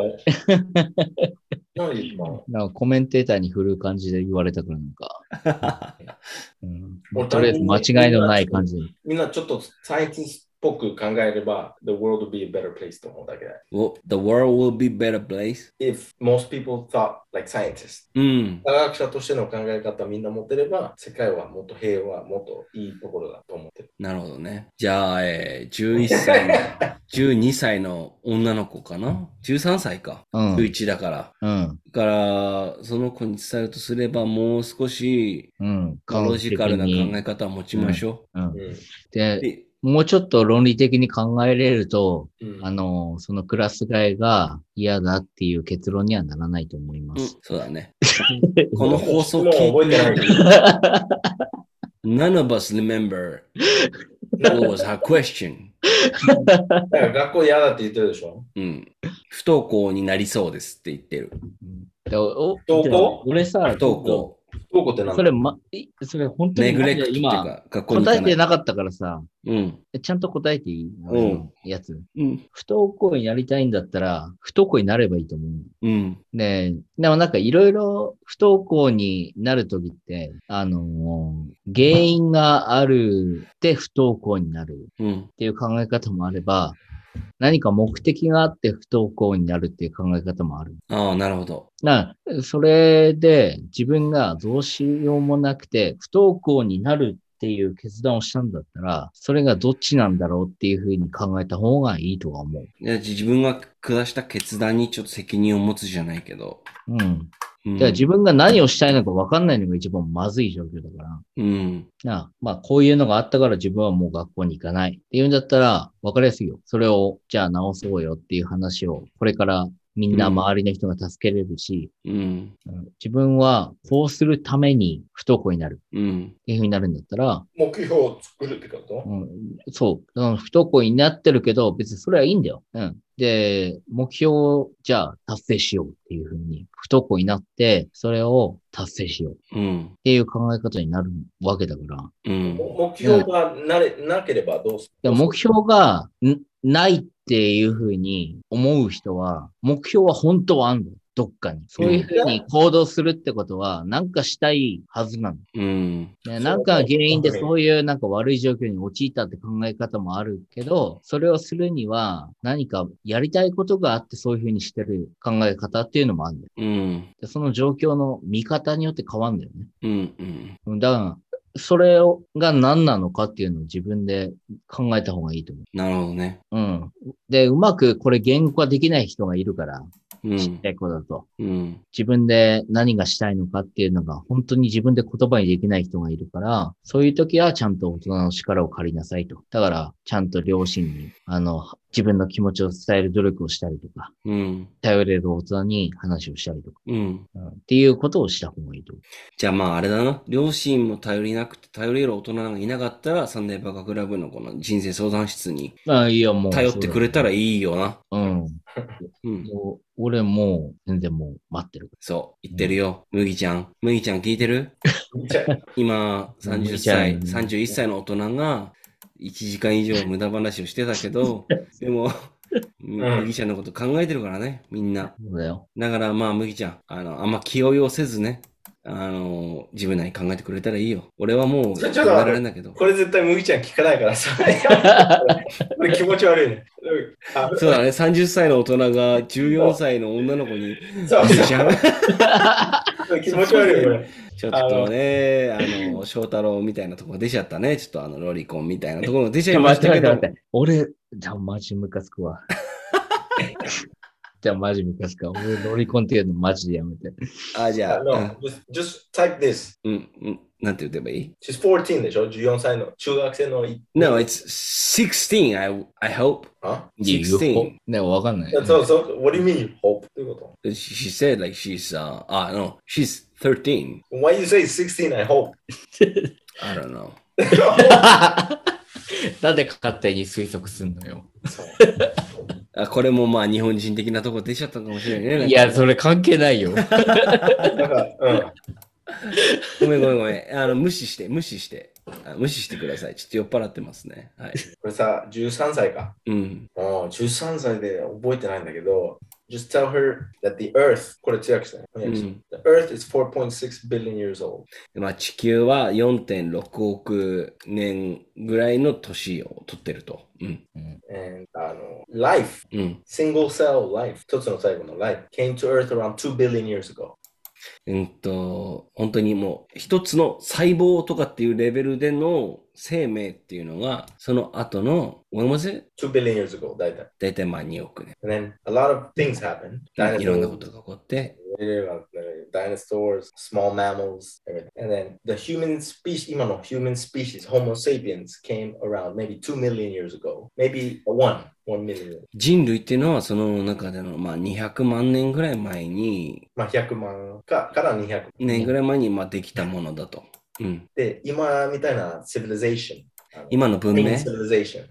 なんかコメンテーターに振る感じで言われたからなんか、とりあえず間違いのない感じで。 みんなちょっとサイエンティスぽく考えれば、the world will be a better place と思うだけだ。 Well, the world will be better place. If most people thought like scientists、 うん。 科学者としての考え方みんな持ってれば、世界はもっと平和、もっといいところだと思ってる。 なるほどね。じゃあ、11歳の、12歳の女の子かな ?13 歳か。11だから。だから、その子に伝えるとすれば、もう少し、ロジカルな考え方を持ちましょう。 で、もうちょっと論理的に考えれると、そのクラス替えが嫌だっていう結論にはならないと思います。 そうだね。この放送聞いてない。None of us remember what was her question. 学校嫌だって言ってるでしょ。 不登校になりそうですって言ってる。 不登校？ 俺さ、 不登校。 不登校って何？ それ本当にネグレクトっていうか、 答えてなかったからさ、ちゃんと答えていいやつ。不登校になりたいんだったら、不登校になればいいと思う。でもなんかいろいろ不登校になるときって、原因があるで不登校になるっていう考え方もあれば、何か目的があって不登校になるっていう考え方もある。 ああ、なるほど。 それで自分がどうしようもなくて不登校になるっていう決断をしたんだったら、それがどっちなんだろうっていうふうに考えた方がいいとは思う。 自分が下した決断にちょっと責任を持つじゃないけど。 だから自分が何をしたいのか分かんないのが一番まずい状況だから。まあ、こういうのがあったから自分はもう学校に行かないっていうんだったら分かりやすいよ。それをじゃあ直そうよっていう話をこれからみんな周りの人が助けれるし、自分はこうするために不登校になるっていうふうになるんだったら、 目標を作るってこと？ そう。不登校になってるけど、別にそれはいいんだよ。で、目標をじゃあ達成しようっていうふうに、不登校になって、それを達成しようっていう考え方になるわけだから。 目標がなければどうする？ 目標がないっていうふうに思う人は、目標は本当はあるの。どっかに。そういうふうに行動するってことは、なんかしたいはずなの。なんか原因でそういうなんか悪い状況に陥ったって考え方もあるけど、それをするには何かやりたいことがあってそういうふうにしてる考え方っていうのもあるんだよ。でその状況の見方によって変わるんだよね。だから、それが何なのかっていうのを自分で考えた方がいいと思う。 なるほどね。 で、うまくこれ言語化できない人がいるから、ちっちゃい子だと、自分で何がしたいのかっていうのが本当に自分で言葉にできない人がいるから、そういう時はちゃんと大人の力を借りなさいと。だから、ちゃんと両親に、自分の気持ちを伝える努力をしたりとか、頼れる大人に話をしたりとか、っていうことをした方がいいと。 じゃあまああれだな。両親も頼りなくて頼れる大人がいなかったら、サンデーバカクラブのこの人生相談室に頼ってくれたらいいよな。 俺もう全然もう待ってる。 そう、言ってるよ。麦ちゃん聞いてる？今30歳、31歳の大人が1時間以上無駄話をしてたけど、でも、麦ちゃんのこと考えてるからね、みんな。 そうだよ。 だからまあ麦ちゃん、あんま気負いをせずね、自分なりに考えてくれたらいいよ。俺はもう考えられんだけど。 これ絶対麦ちゃん聞かないからさ。これ気持ち悪いね。 そうだね、30歳の大人が14歳の女の子に。 そう気持ち悪いよ、これ。 ちょっとね、翔太郎みたいなところ出ちゃったね。ちょっとロリコンみたいなところ出ちゃいましたけど。 俺、じゃあマジムカつくわ。じゃあマジムカつくわ。俺、ロリコンっていうのマジでやめて。 じゃあ。 No, just type this. なんて言ってばいい？ She's 14でしょ ?14 歳の中学生の。 No, it's 16, I hope. Huh?16? ね、わかんない。 So, what do you mean, hope? どういうこと？ She said like she's, no, she's 13. Why you say 16, I hope? I don't know. なんで勝手に推測すんのよ。 これもまあ日本人的なとこ出ちゃったかもしれないね。 いや、それ関係ないよ。 ごめん。無視してください。ちょっと酔っ払ってますね。はい。 これさ、13歳か。13歳で覚えてないんだけど、 just tell her that the earth, これ強くしてね。The earth is 4.6 billion years old. まあ地球は4.6億年ぐらいの年を取ってると。 And life, single cell life, 一つの最後の life, came to earth around 2 billion years ago. 本当にもう一つの細胞とかっていうレベルでの生命っていうのが、その後の、what was it? 2 billion years ago, 大体まあ2億年。 And then a lot of things happen. いろんなことが起こって、 dinosaurs, small mammals, everything. And then the human species, 今の human species, Homo sapiens, came around maybe 2 million years ago. Maybe 1 million. 人類っていうのはその中でのまあ200万年ぐらい前に、 まあ100万から200 年ぐらい前にまあできたものだと。 で、今みたいな civilization。 今の文明 civilization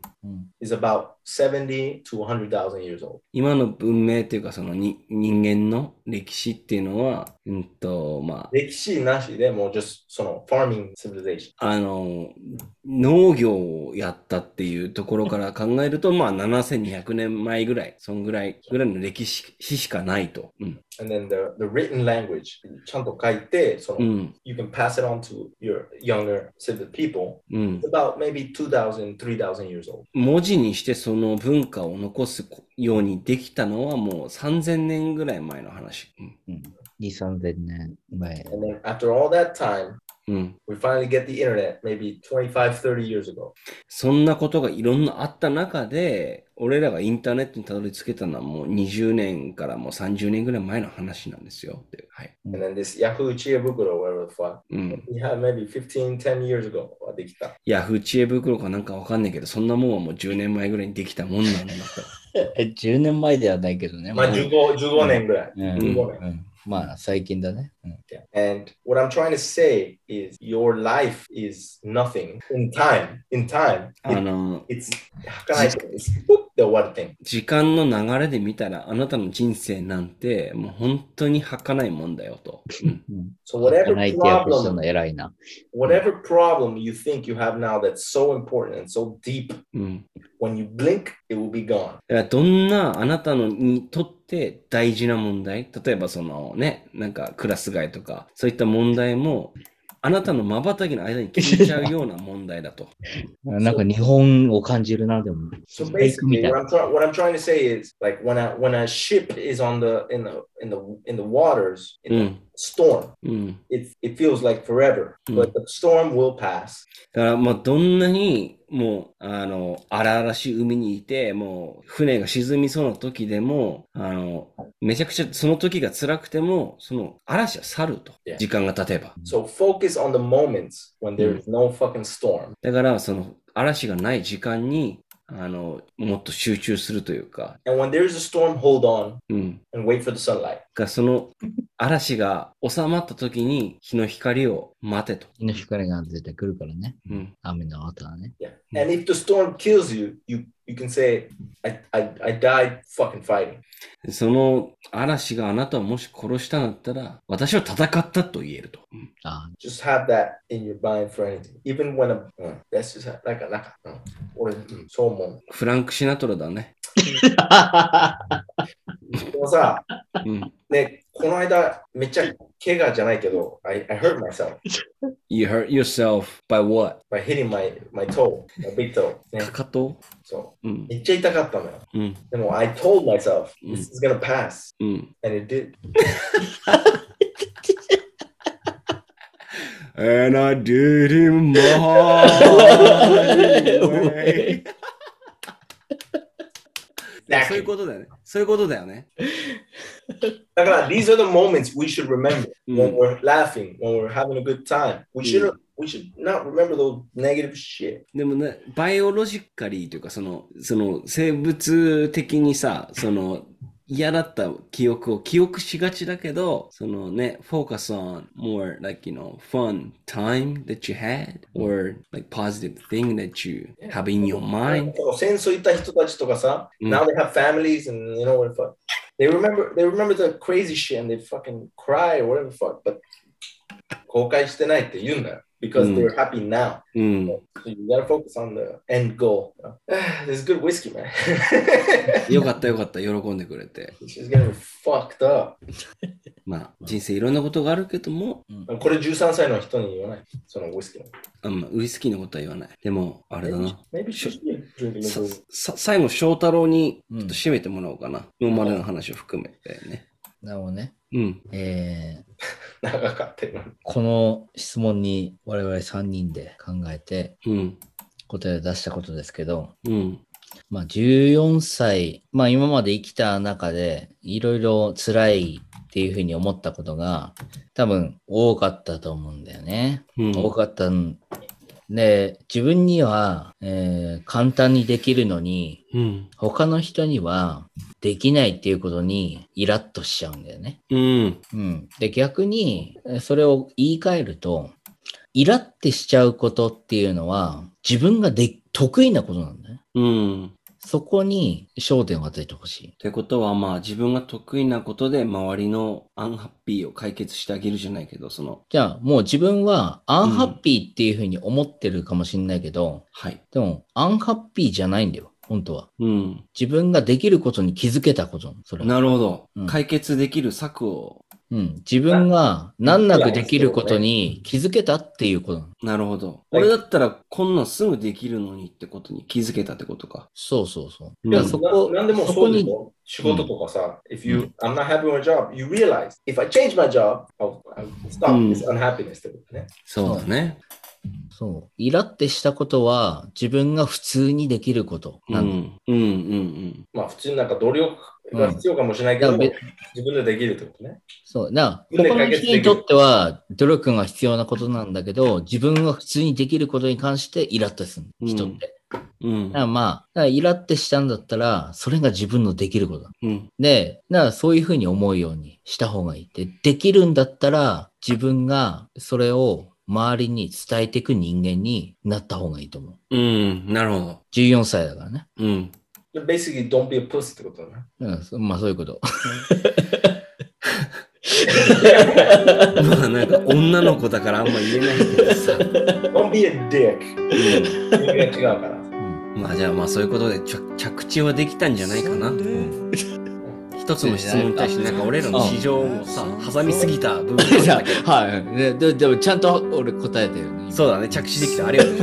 is about 70 to 100,000 years old. 今の文明っていうかその人間の歴史っていうのは、まあ、 歴史なしでもう just その farming civilization。 農業をやったっていうところから考えると、まあ7200年前ぐらい、そんぐらいの歴史しかないと。 And then the written language ちゃんと書いて、その、you can pass it on to your younger people. It's about maybe 2,000, 3,000 years old. 文字にしてその文化を残すようにできたのはもう3000年ぐらい前の話。 2、3000年前。 And then after all that time, we finally get the internet maybe 25, 30 years ago. そんなことがいろんなあった中で、俺らがインターネットにたどり着けたのはもう20年からもう30年ぐらい前の話なんですよ。はい。 And then this Yahoo 知恵袋 whatever the fuck. Yeah, maybe 15, 10 years ago はできた。 Yahoo 知恵袋かなんかわかんないけど、そんなもんはもう10年前ぐらいにできたもんなんだと。10年前ではないけどね。 まあ15年ぐらい。15年。 まあ最近だね。 And what I'm trying to say is your life is nothing in time. It's で終わる点。 時間の流れで見たらあなたの人生なんてもう本当に儚いもんだよと。 So whatever problem you think you have now that's so important and so deep, when you blink, it will be gone. どんなあなたのにとって大事な問題、例えばそのね、なんかクラス替えとか、そういった問題も、あなたの瞬きの間に消えちゃうような問題だと。 なんか日本を感じるな、でも。 So basically, what I'm trying to say is, like when a ship is in the waters, in the storm, it feels like forever, but the storm will pass. だからまあどんなにもう荒々しい海にいて、もう船が沈みそうな時でも、めちゃくちゃその時が辛くても、その嵐は去ると。時間が経てば。 So focus on the moments when there is no fucking storm. だからその嵐がない時間にもっと集中するというか。 And when there is a storm, hold on and wait for the sunlight. その嵐が収まった時に日の光を待てと。 日の光が出てくるからね。雨の後はね。 Yeah. And if the storm kills you, you can say, I died fucking fighting. その嵐があなたをもし殺したんだったら、私は戦ったと言えると。 Just have that in your mind for anything. Even when that's just like俺、そう思う。 フランク・シナトラだね。 でもさ、ね、この間めっちゃ怪我じゃないけど、I hurt myself. You hurt yourself by what? By hitting my toe, my big toe. かかと？ そう。めっちゃ痛かったのよ。でも、I told myself, this is gonna pass. And it did. And I did him my way. そういうことだよね。そういうことだよね。 だから、these are the moments we should remember when we're laughing, when we're having a good time. We should not remember those negative shit. でもね、バイオロジカリーというか、その生物的にさ、嫌だった記憶を記憶しがちだけど、そのね、focus on more like, fun time that you had or like positive thing that you have in your mind. 戦争行った人たちとかさ、now they have families and what the fuck. They remember the crazy shit and they fucking cry or whatever the fuck. But 後悔してないって言うんだよ。Because they're happy now. So you gotta focus on the end goal. This is good whiskey, man. よかったよかった、喜んでくれて。 She's getting fucked up. まあ、人生いろんなことがあるけども、 これ13歳の人に言わない。そのウイスキーの。 ウイスキーのことは言わない。でも、あれだな。 Maybe 最後、翔太郎にちょっと締めてもらおうかな。今までの話を含めてね。 なるほどね。 長かったよ。 この質問に我々3人で考えて、答えを出したことですけど、まあ14歳、まあ今まで生きた中でいろいろ辛いっていうふうに思ったことが多分多かったと思うんだよね。多かったんで、自分には、簡単にできるのに、他の人にはできないっていうことにイラッとしちゃうんだよね。で、逆にそれを言い換えると、イラってしちゃうことっていうのは自分が得意なことなんだね。そこに焦点を当ててほしい。 ってことは、まあ自分が得意なことで周りのアンハッピーを解決してあげるじゃないけど、 じゃあもう自分はアンハッピーっていうふうに思ってるかもしれないけど、でもアンハッピーじゃないんだよ、本当は。自分ができることに気づけたこと。それなるほど、解決できる策を。 自分が難なくできることに気づけたっていうこと。 なるほど。俺だったらこんなんすぐできるのにってことに気づけたってことか。 そう。 なんでもそうでしょ。仕事とかさ、I'm not happy with my job, you realize, if I change my job, I'll stop this unhappiness ってことね。 そうだね。 そう。イラってしたことは自分が普通にできることなんだ。 まあ普通になんか努力が必要かもしれないけど、自分でできるってことね。 そう。他の人にとっては努力が必要なことなんだけど、自分が普通にできることに関してイラッとする人って。だからイラッてしたんだったら、それが自分のできることだ。で、そういうふうに思うようにした方がいい。できるんだったら、自分がそれを周りに伝えていく人間になった方がいいと思う。 なるほど。 14歳だからね。 Basically, don't be a puss ってことだね。 まあそういうこと。 まあなんか女の子だからあんま言えないけどさ。 Don't be a dick. 違うから。 まあじゃあまあそういうことで着地はできたんじゃないかな。一つの質問に対してなんか俺らの市場をさ、挟みすぎた部分だけど。 はい。でもちゃんと俺答えてるね。 そうだね。着地できた。ありがとう。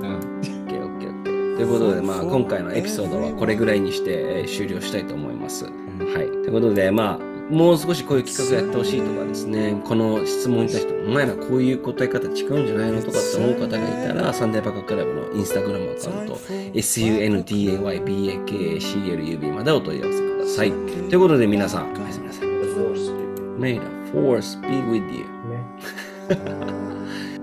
ということで、まあ、今回のエピソードはこれぐらいにして、終了したいと思います。はい。ということで、まあ、もう少しこういう企画やってほしいとかですね、この質問に対して、お前らこういう答え方違うんじゃないのとかって思う方がいたら、サンデーバカクラブのインスタグラムアカウント、sundaybakaclub までお問い合わせください。ということで、皆さん、おやすみなさい。May the force be with you.